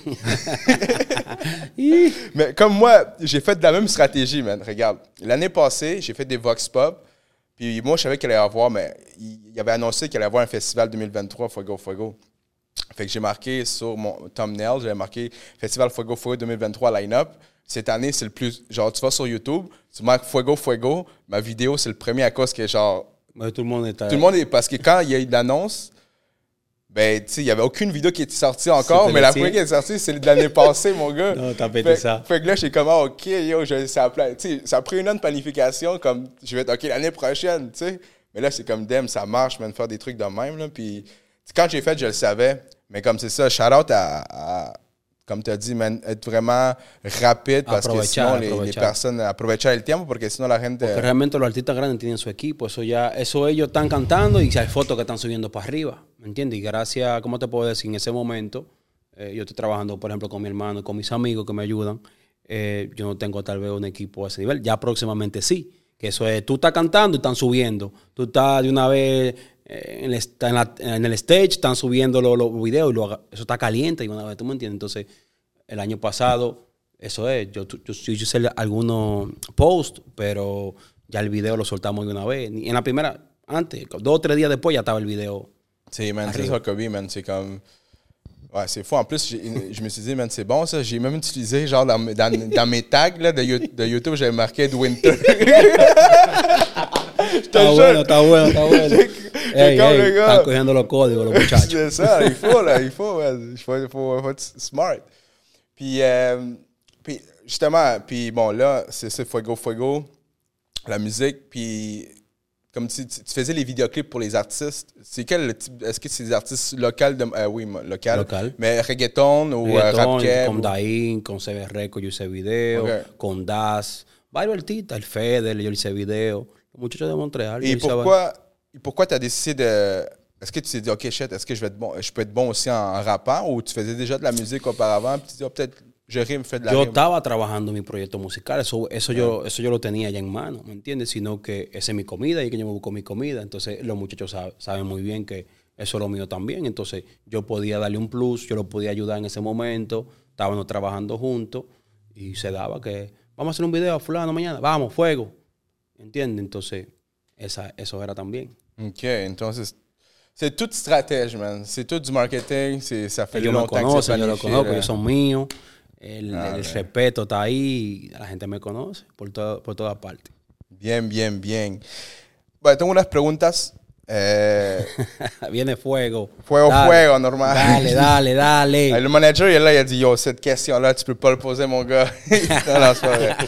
Mais comme moi, j'ai fait de la même stratégie, man. Regarde, l'année passée, j'ai fait des Vox Pop. Puis moi, je savais qu'il allait y avoir, mais il, il avait annoncé qu'il allait y avoir un festival deux mille vingt-trois, Fuego Fuego. Fait que j'ai marqué sur mon thumbnail, j'avais marqué Festival Fuego Fuego deux mille vingt-trois line-up. Cette année, c'est le plus... Genre, tu vas sur YouTube, tu marques Fuego Fuego, ma vidéo, c'est le premier à cause que genre...
Ouais, tout le monde est...
Tout le monde est... Parce que quand il y a eu l'annonce, ben, tu sais, il n'y avait aucune vidéo qui était sortie encore,
C'était
mais la première qui est sortie, c'est de l'année passée, mon gars.
Non, t'as pété
fait,
ça.
Fait que là, j'ai comme, ah, OK, yo, je, ça, a, tu sais, ça a pris une an de planification, comme, je vais être OK l'année prochaine, tu sais. Mais là, c'est comme, damn, ça marche, man, faire des trucs de même, là. Puis, quand j'ai fait, je le savais. Mais comme c'est ça, shout-out à, à comme tu as dit, man, être vraiment rapide parce que sinon les, les personnes aprovechar el tiempo porque si no la gente...
Porque realmente los artistas grandes tienen su equipo, eso ya, eso ellos están cantando y hay fotos que están subiendo para arriba, ¿me entiendes? Y gracias, ¿cómo te puedo decir? En ese momento, eh, yo estoy trabajando, por ejemplo, con mi hermano y con mis amigos que me ayudan, eh, yo no tengo tal vez un equipo a ese nivel, ya próximamente sí, que eso es, tú estás cantando y están subiendo, tú estás de una vez... En el, en, la, en el stage están subiendo los, los videos y lo, eso está caliente y una vez, ¿tú me entiendes? Entonces, el año pasado, eso es, yo, yo, yo hice algunos posts, pero ya el video lo soltamos de una vez. En la primera, antes, dos o tres días después ya estaba el video.
Sí, man, c'est ça que oui, man, c'est comme... Ouais, c'est fou. En plus, je me suis dit, man, c'est bon ça. J'ai même utilisé, genre, dans, dans, dans mes tags là, de, de YouTube, j'avais marqué Ed Winter.
Está bueno, está bueno, está bueno. Hey, hey, están cogiendo los códigos, los muchachos.
C'est ça, il faut, là, il faut, il faut, il faut, il faut être smart. Puis, euh, puis justement, puis bon, là, c'est ça, Fuego Fuego, la musique, puis comme tu, tu faisais les vidéoclips pour les artistes, c'est quel type, est-ce que c'est des artistes locaux, de, euh, oui, local,
local,
mais reggaeton ou
reggaeton,
rap keb?
Con Daín, con C B Reco, yo hice video, okay. Con Das, varios artistas, el Feder, yo hice video, los muchachos de Montréal.
Et pourquoi... Et pourquoi tu as décidé de... Est-ce que tu t'es dit, OK, shit, est-ce que je vais être bon, je peux être bon aussi en, en rappant ou tu faisais déjà de la musique auparavant puis tu te dis, oh, peut-être je rime, fais de la
Yo
rime?
estaba trabajando en mi proyecto musical, eso, eso, yeah. yo, eso yo lo tenía ya en mano, ¿me entiendes? Sino que esa es mi comida y que yo me busco mi comida. Entonces los muchachos saben, saben muy bien que eso es lo mío también. Entonces yo podía darle un plus, yo lo podía ayudar en ese momento, estábamos trabajando juntos y se daba que vamos a hacer un video a fulano mañana, vamos, fuego, ¿entiendes? Entonces... Esa, eso era también.
OK. Entonces, c'est toute stratégie, man. C'est tout du marketing. C'est, ça fait
ellos
longtemps
me conocen,
que c'est
yo lo conozco, ellos son míos. El, ah, el respeto está ahí. La gente me conoce por, todo, por todas partes.
Bien, bien, bien. Bueno, tengo unas preguntas. Eh,
Viene fuego.
Fuego,
dale,
fuego, normal.
Dale, dale, dale.
Le manager, il est là, il a dit, yo, cette question-là, tu peux pas le poser, mon gars. Non, non, c'est pas vrai.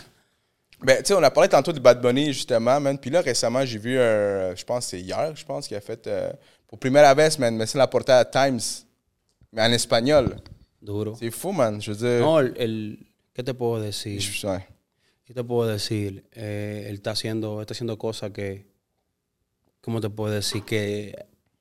Ben, tu sais, on a parlé tantôt de Bad Bunny, justement, man. Puis là, récemment, j'ai vu, euh, je pense, c'est hier, je pense, qu'il a fait, euh, pour Primera Vez, man, mais c'est la portada Times, mais en espagnol.
Duro.
C'est fou, man, je veux dire.
No, el, el ¿qué te puedo decir?
Je, ouais.
¿Qué te puedo decir? Eh, él está haciendo, está haciendo cosas que, ¿cómo te puedo decir? Que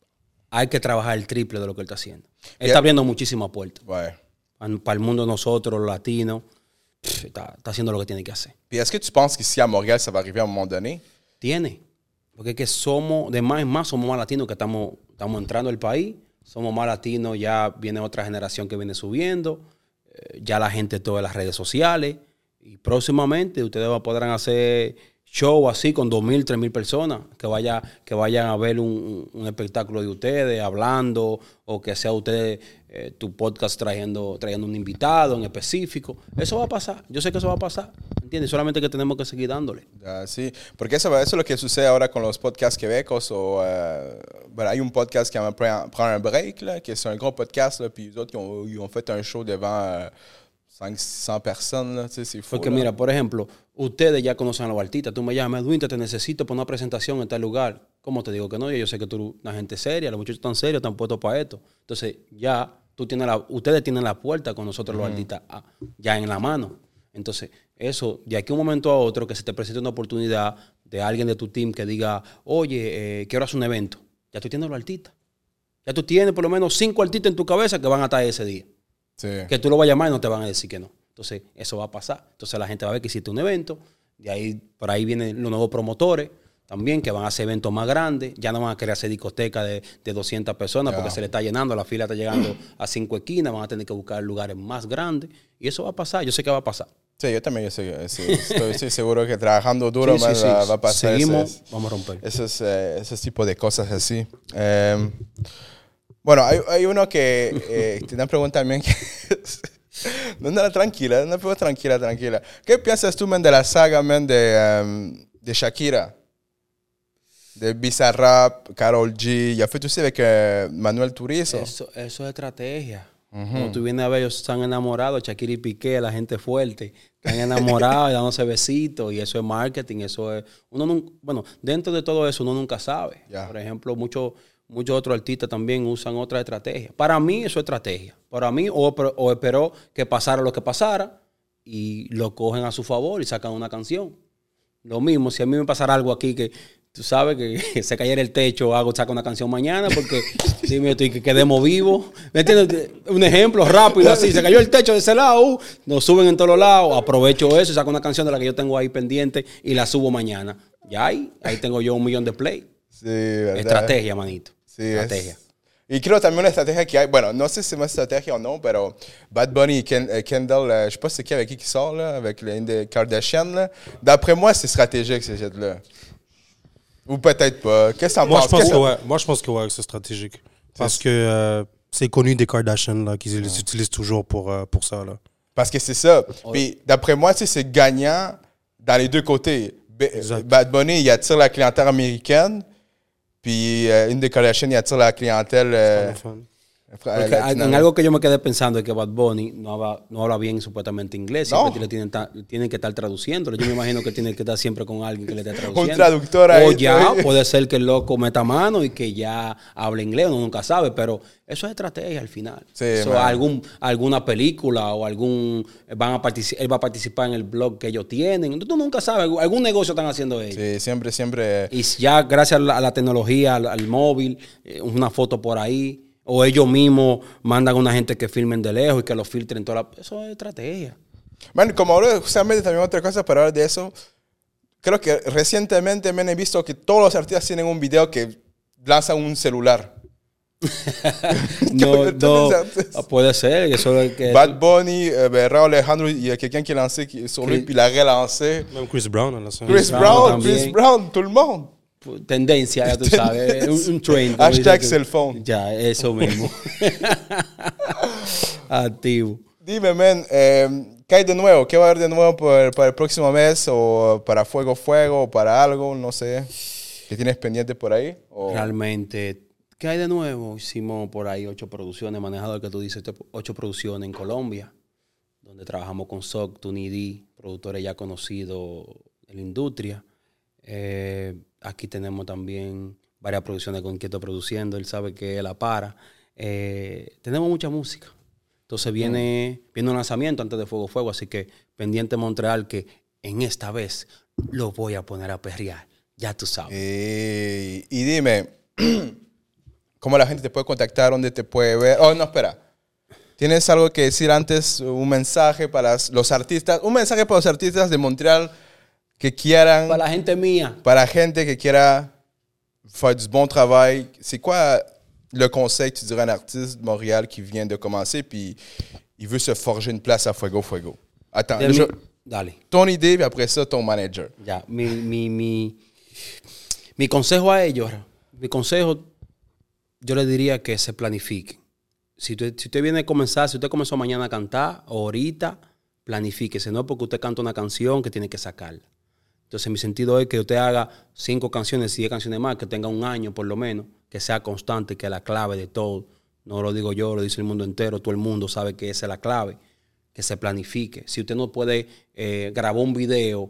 hay que trabajar el triple de lo que él está haciendo. Él yeah. está abriendo muchísimas puertas.
Ouais.
Para el mundo de nosotros, los latinos. Está, está haciendo lo que tiene que hacer.
Puis est-ce que tu penses qu'ici à Montréal, ça va arriver à un moment donné?
Tiene. Porque es que somos, de más en más, somos más latinos que estamos, estamos entrando al país. Somos más latinos, ya viene otra generación que viene subiendo. Eh, ya la gente toda en las redes sociales. Y próximamente ustedes podrán hacer show así con dos mil, tres mil personas que, vaya, que vayan a ver un, un espectáculo de ustedes hablando o que sea ustedes eh, tu podcast trayendo, trayendo un invitado en específico. Eso va a pasar. Yo sé que eso va a pasar. ¿Entiendes? Solamente que tenemos que seguir dándole.
Uh, sí, porque eso, eso es lo que sucede ahora con los podcasts québécois. O, uh, ben, hay un podcast qui prend un break, là, qui c'est un gros podcast, là, puis les autres, ils ont, ils ont fait un show devant... Uh, cinq cents personas, ¿no? Sí, sí,
porque mira, por ejemplo, ustedes ya conocen a los artistas. Tú me llamas, Edwin, te necesito para una presentación en tal lugar. ¿Cómo te digo que no? Yo sé que tú eres una gente seria, los muchachos están serios, están puestos para esto. Entonces, ya tú tienes la, ustedes tienen la puerta con nosotros los uh-huh. artistas ya en la mano. Entonces, eso, de aquí a un momento a otro, que se te presente una oportunidad de alguien de tu team que diga, oye, eh, quiero hacer un evento. Ya tú tienes los artistas. Ya tú tienes por lo menos cinco artistas en tu cabeza que van a estar ese día. Sí. Que tú lo vas a llamar y no te van a decir que no. Entonces, eso va a pasar. Entonces, la gente va a ver que hiciste un evento. De ahí, por ahí vienen los nuevos promotores también, que van a hacer eventos más grandes. Ya no van a querer hacer discotecas de, de doscientas personas, yeah. porque se le está llenando. La fila está llegando a cinco esquinas. Van a tener que buscar lugares más grandes. Y eso va a pasar. Yo sé que va a pasar.
Sí, yo también yo sé, sí, estoy, estoy seguro que trabajando duro sí, más sí, sí. Va, va a pasar.
Seguimos,
esos,
vamos a romper.
Esos, eh, esos tipos de cosas así. Eh, Bueno, hay, hay uno que eh, te dan pregunta también que... no, no, tranquila, no, pero tranquila, tranquila. ¿Qué piensas tú, man, de la saga, man, de, um, de Shakira? De Bizarrap, Karol G. Ya fue tú sí avec uh, Manuel Turizo.
Eso, eso es estrategia. Uh-huh. Cuando tú vienes a ver, ellos están enamorados, Shakira y Piqué, la gente fuerte. Están enamorados y dándose besitos. Y eso es marketing, eso es... Uno no, bueno, dentro de todo eso uno nunca sabe. Yeah. Por ejemplo, muchos muchos otros artistas también usan otra estrategia. Para mí eso es estrategia. Para mí, o, o esperó que pasara lo que pasara y lo cogen a su favor y sacan una canción. Lo mismo, si a mí me pasara algo aquí que... Tú sabes que se cayera el techo, hago, saco una canción mañana porque dime estoy que quedemos vivos. ¿Me entiendes? Un ejemplo rápido así. Se cayó el techo de ese lado, uh, nos suben en todos lados. Aprovecho eso y saco una canción de la que yo tengo ahí pendiente y la subo mañana. Ya ahí, ahí tengo yo un millón de play.
Sí, ¿verdad?
Estrategia, manito.
Sí,
estrategia.
Es... Y creo también una estrategia qui hay, bueno, no sé si c'est une estrategia o no, pero Bad Bunny et Ken, euh, Kendall, euh, je sais pas c'est qui avec qui qui sort, là, avec l'une des Kardashian, là. D'après moi, c'est stratégique, ces jets-là. Ou peut-être pas. Qu'est-ce que t'en
Moi,
penses?
je pense
que
que ouais. Moi, je pense que ouais, c'est stratégique. Parce que euh, c'est connu des Kardashians là, qu'ils les utilisent toujours pour, euh, pour ça. Là.
Parce que c'est ça. Puis d'après moi, c'est gagnant dans les deux côtés. B- Bad Bunny, il attire la clientèle américaine. Puis euh, une des Kardashian, il attire la clientèle... Euh,
Porque en algo que yo me quedé pensando es que Bad Bunny no habla, no habla bien supuestamente inglés. No. Siempre le tienen, ta, tienen que estar traduciéndolo. Yo me imagino que tiene que estar siempre con alguien que le esté traduciendo.
Un traductor ahí.
O ya puede ser que el loco meta mano y que ya hable inglés. Uno nunca sabe, pero eso es estrategia al final.
Sí,
so, algún, alguna película o algún... Van a particip, él va a participar en el blog que ellos tienen. Tú nunca sabes. Algún negocio están haciendo ellos.
Sí, siempre, siempre.
Y ya gracias a la, a la tecnología, al, al móvil, una foto por ahí... O ellos mismos mandan a una gente que filmen de lejos y que lo filtren toda la... Eso es estrategia.
Bueno, como ahora justamente también otra cosa para hablar de eso, creo que recientemente me he visto que todos los artistas tienen un video que lanzan un celular.
no, no, puede ser. Eso es que
Bad Bunny, euh, Raúl Alejandro, il y a quelqu'un qui a lancé sur lui, puis il a relancé.
Même Chris Brown a lancé.
Chris, Chris Brown, Chris Brown, tout le monde.
Tendencia, ya tú sabes, un, un trend.
Hashtag cell phone.
Ya, eso mismo. Activo.
Dime, man, eh, ¿qué hay de nuevo? ¿Qué va a haber de nuevo para, para el próximo mes? ¿O para Fuego Fuego? ¿O para algo? No sé. ¿Qué tienes pendiente por ahí? ¿O?
Realmente, ¿qué hay de nuevo? Hicimos por ahí ocho producciones, manejador que tú dices, ocho producciones en Colombia, donde trabajamos con S O C, Tunidi, productores ya conocidos en la industria. Eh, aquí tenemos también varias producciones con quien estoy produciendo. Él sabe que la para. Eh, tenemos mucha música. Entonces viene, mm. viene un lanzamiento antes de Fuego Fuego. Así que pendiente Montreal que en esta vez lo voy a poner a perrear. Ya tú sabes.
Eh, y dime, ¿cómo la gente te puede contactar? ¿Dónde te puede ver? Oh, no, espera. ¿Tienes algo que decir antes? Un mensaje para los artistas. Un mensaje para los artistas de Montreal que quieran...
Para la gente mía.
Para la gente que quiera faire du bon travail. C'est quoi le conseil que tu dirais à un artiste de Montréal qui vient de commencer puis il veut se forger une place à Fuego Fuego? Attends,
mi,
je,
dale.
Ton idée, puis après ça, ton manager.
Ya, mi, mi, mi, mi consejo a ellos, mi consejo, yo les diría que se planifiquen. Si usted, si usted viene a comenzar, si usted comenzó mañana a cantar, o ahorita, planifíquese, no porque usted canta una canción que tiene que sacarla. Entonces, mi sentido es que usted haga cinco canciones, diez canciones más, que tenga un año por lo menos, que sea constante, que es la clave de todo. No lo digo yo, lo dice el mundo entero, todo el mundo sabe que esa es la clave, que se planifique. Si usted no puede eh, grabar un video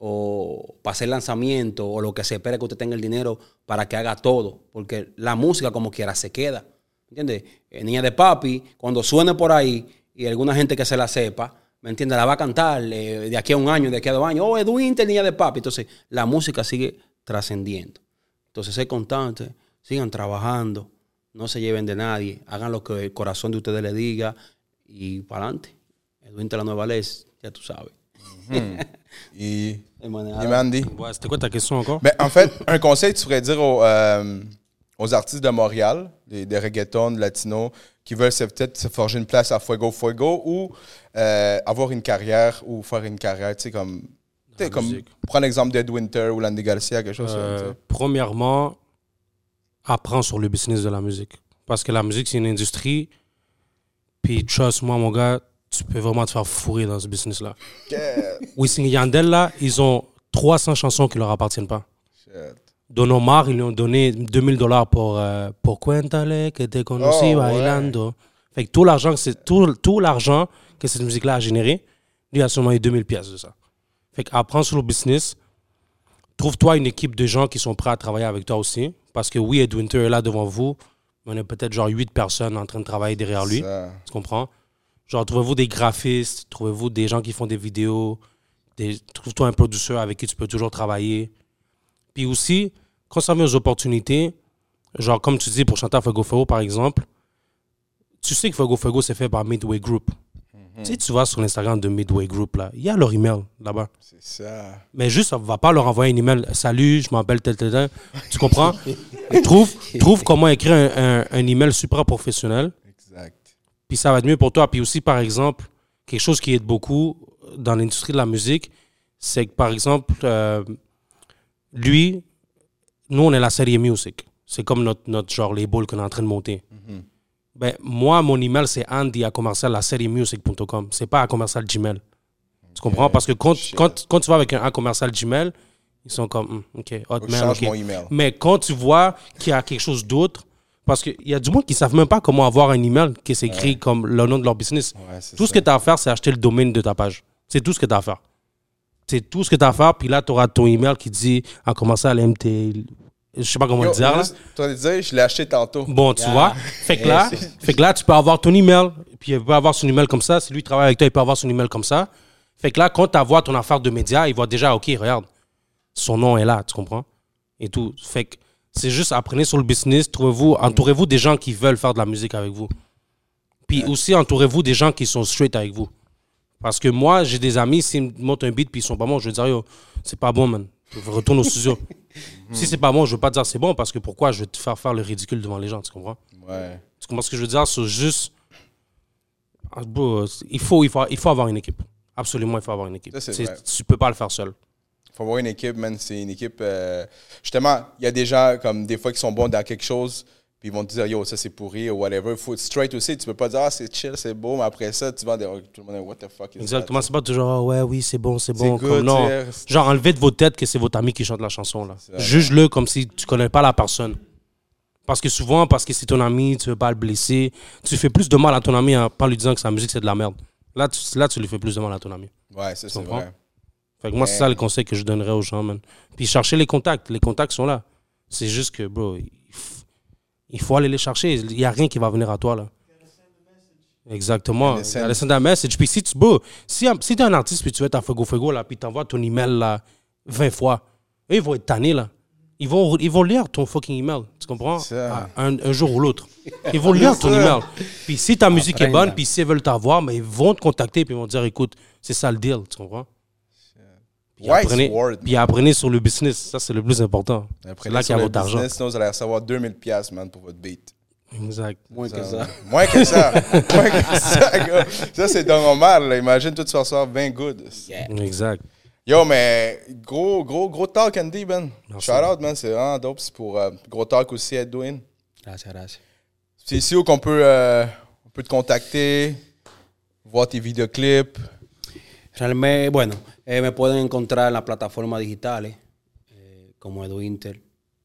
o para hacer lanzamiento o lo que se espera que usted tenga el dinero para que haga todo, porque la música como quiera se queda. ¿Entiendes? Eh, Niña de Papi, cuando suene por ahí y alguna gente que se la sepa, ¿me entiendes? La va a cantar eh, de aquí a un año, de aquí a dos años. Oh, Edwin, Niña de Papi. Entonces, la música sigue trascendiendo. Entonces, sé constante, sigan trabajando, no se lleven de nadie, hagan lo que el corazón de ustedes le diga y para adelante. Edwin de la Nueva Ley, ya tú sabes.
Mm-hmm. Et, et Mandy?
Ouais, c'était quoi ta question encore?
Ben, en fait, un conseil, tu pourrais dire aux, euh, aux artistes de Montréal, des, des reggaetons, des latinos, qui veulent se, peut-être se forger une place à Fuego Fuego ou euh, avoir une carrière ou faire une carrière, tu sais, comme, tu sais, comme prends l'exemple d'Ed Winter ou Landy Garcia, quelque chose
euh,
comme ça.
Premièrement, apprends sur le business de la musique. Parce que la musique, c'est une industrie. Puis, trust moi, mon gars, tu peux vraiment te faire fourrer dans ce business-là.
Yeah.
Wisin et Yandel, là, ils ont trois cents chansons qui leur appartiennent pas.
Shit.
Don Omar, ils lui ont donné deux mille dollars pour euh, pour Cuéntale que te conocí
Oh,
bailando. Ouais. Fait que tout l'argent, c'est tout, tout l'argent que cette musique-là a généré, lui a seulement eu deux mille pièces de ça. Fait qu'apprends sur le business. Trouve-toi une équipe de gens qui sont prêts à travailler avec toi aussi. Parce que oui, Ed Winter est là devant vous, mais on est peut-être genre huit personnes en train de travailler derrière lui.
Ça.
Tu comprends? Genre, trouvez-vous des graphistes, trouvez-vous des gens qui font des vidéos, des, trouve-toi un producteur avec qui tu peux toujours travailler. Puis aussi, quand ça vient aux opportunités, genre comme tu dis pour chanter à Fuego Fuego par exemple, tu sais que Fuego Fuego c'est fait par Midway Group. Mm-hmm. Tu sais, tu vas sur l'Instagram de Midway Group, là, il y a leur email là-bas.
C'est ça.
Mais juste, on ne va pas leur envoyer un email. Salut, je m'appelle tel, tel, tel. Tu comprends? trouve, trouve comment écrire un, un, un email super professionnel.
Exact.
Puis ça va être mieux pour toi. Puis aussi, par exemple, quelque chose qui aide beaucoup dans l'industrie de la musique, c'est que, par exemple, euh, lui, nous, on est la série Music. C'est comme notre, notre genre label qu'on est en train de monter. Mm-hmm. Ben, moi, mon email, c'est andy à commercial la série music point com. C'est pas à commercial Gmail. Okay. Tu comprends? Parce que quand, quand, quand tu vas avec un A commercial Gmail, ils sont comme, mm, OK, Hotmail, OK.
Mon email.
Mais quand tu vois qu'il y a quelque chose d'autre, parce qu'il y a du monde qui ne savent même pas comment avoir un email qui s'écrit ouais. comme le nom de leur business. Ouais, tout ça. Ce que tu as à faire, c'est acheter le domaine de ta page. C'est tout ce que tu as à faire. C'est tout ce que tu as à faire. Puis là, tu auras ton email qui dit à commencer à M T. Je sais pas comment
Yo,
le dire. Là.
Tu vas te dire, je l'ai acheté tantôt.
Bon, tu yeah. vois. Fait que, là, fait que là, tu peux avoir ton email. Puis il peut avoir son email comme ça. Si lui travaille avec toi, il peut avoir son email comme ça. Fait que là, quand tu vois ton affaire de médias, il voit déjà, OK, regarde, son nom est là, tu comprends? Et tout. Fait que c'est juste apprenez sur le business, trouvez-vous, entourez-vous des gens qui veulent faire de la musique avec vous. Puis ouais. aussi, entourez-vous des gens qui sont straight avec vous. Parce que moi, j'ai des amis, s'ils me montent un beat puis ils sont pas bons, je vais dire, yo, c'est pas bon, man. Retourne au studio. Si c'est pas bon, je veux pas te dire c'est bon parce que pourquoi je vais te faire faire le ridicule devant les gens, tu comprends?
Ouais.
Tu comprends ce que je veux dire? C'est juste. Il faut, il, faut, il faut avoir une équipe. Absolument, il faut avoir une équipe. Ça, c'est c'est, tu peux pas le faire seul.
Il faut avoir une équipe, man. C'est une équipe. Euh... Justement, il y a des gens, comme des fois, qui sont bons dans quelque chose, puis ils vont te dire, yo, ça c'est pourri, ou whatever. Il faut être straight aussi. Tu peux pas dire, ah, c'est chill, c'est beau, mais après ça, tu vas dire, tout le monde, what the fuck is
Exactement,
that?
C'est pas toujours, oh, ouais, oui, c'est bon, c'est bon.
C'est good,
non. Genre, enlevez de vos têtes que c'est votre ami qui chante la chanson, là. Juge-le comme si tu connais pas la personne. Parce que souvent, parce que c'est ton ami, tu veux pas le blesser, tu fais plus de mal à ton ami en pas lui disant que sa musique, c'est de la merde. Là, tu, là, tu lui fais plus de mal à ton ami.
Ouais, ça, c'est vrai.
Fait que moi, c'est ça le conseil que je donnerais aux gens, man. Puis chercher les contacts. Les contacts sont là. C'est juste que, bro, il, f... il faut aller les chercher. Il n'y a rien qui va venir à toi, là. Exactement. Il y a send un message. Puis si tu, bro, si, si tu es un artiste puis tu veux ta Fuego Fuego, là, puis tu envoies ton email, là, vingt fois, eux, ils vont être tannés, là. Ils vont, ils vont lire ton fucking email. Tu comprends? Un, un jour ou l'autre. Ils vont lire ton email. Puis si ta musique Après, est bonne, puis s'ils veulent t'avoir, mais ils vont te contacter puis ils vont te dire, écoute, c'est ça le deal. Tu comprends? Puis apprenez, puis apprenez sur le business. Ça, c'est le plus important. C'est là qu'il y a votre argent.
Sinon, vous allez recevoir deux mille dollars, man, pour votre beat.
Exact.
Moins
ça,
que ça.
Moins que ça. Moins que ça, gars. Ça, c'est normal. Là. Imagine, toi, tu vas recevoir vingt good.
Yeah. Exact.
Yo, mais gros, gros, gros talk, Andy, man. Shout out, man. C'est vraiment dope. C'est pour uh, gros talk aussi, Edwin.
Gracias, gracias.
C'est ici où qu'on peut, euh, on peut te contacter, voir tes vidéoclips.
Realmente, bueno, eh, me pueden encontrar en las plataformas digitales eh, como Edwinter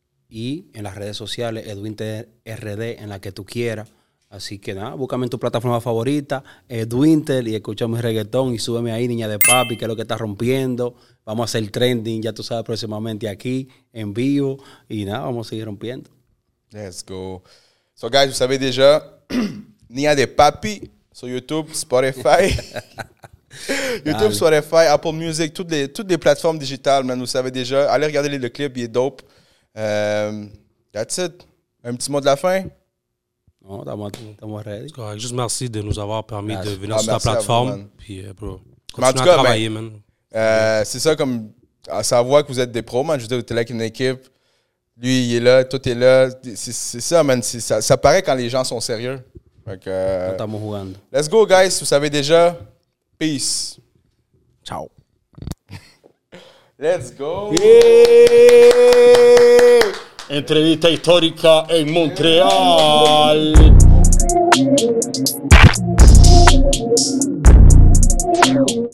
y en las redes sociales Edwinter R D en la que tú quieras. Así que nada, búscame en tu plataforma favorita, Edwinter, y escucha mi reggaetón y súbeme ahí, niña de papi, que es lo que está rompiendo. Vamos a hacer trending, ya tú sabes, próximamente aquí, en vivo. Y nada, vamos a seguir rompiendo.
Let's go. So, guys, vous savez déjà, Niña de Papi sur YouTube, Spotify. YouTube, Spotify, Apple Music, toutes les, toutes les plateformes digitales, man, vous savez déjà. Allez regarder le clip, il est dope. Um, that's it. Un petit mot de la fin?
Non, estamos ready.
Juste merci de nous avoir permis merci. de venir ah, sur ta plateforme. Vous, Puis, euh, bro,
continue en tout
à
cas,
travailler,
ben,
man.
Euh, c'est ça, comme à savoir que vous êtes des pros, man. Je veux dire, tu es là avec une équipe. Lui, il est là, toi, tu es là. C'est, c'est ça, man. C'est, ça, ça paraît quand les gens sont sérieux. Donc, euh,
estamos jugando.
Let's go, guys. Vous savez déjà. Peace.
Ciao.
Let's go.
Yeah!
Entrevista histórica en Montreal.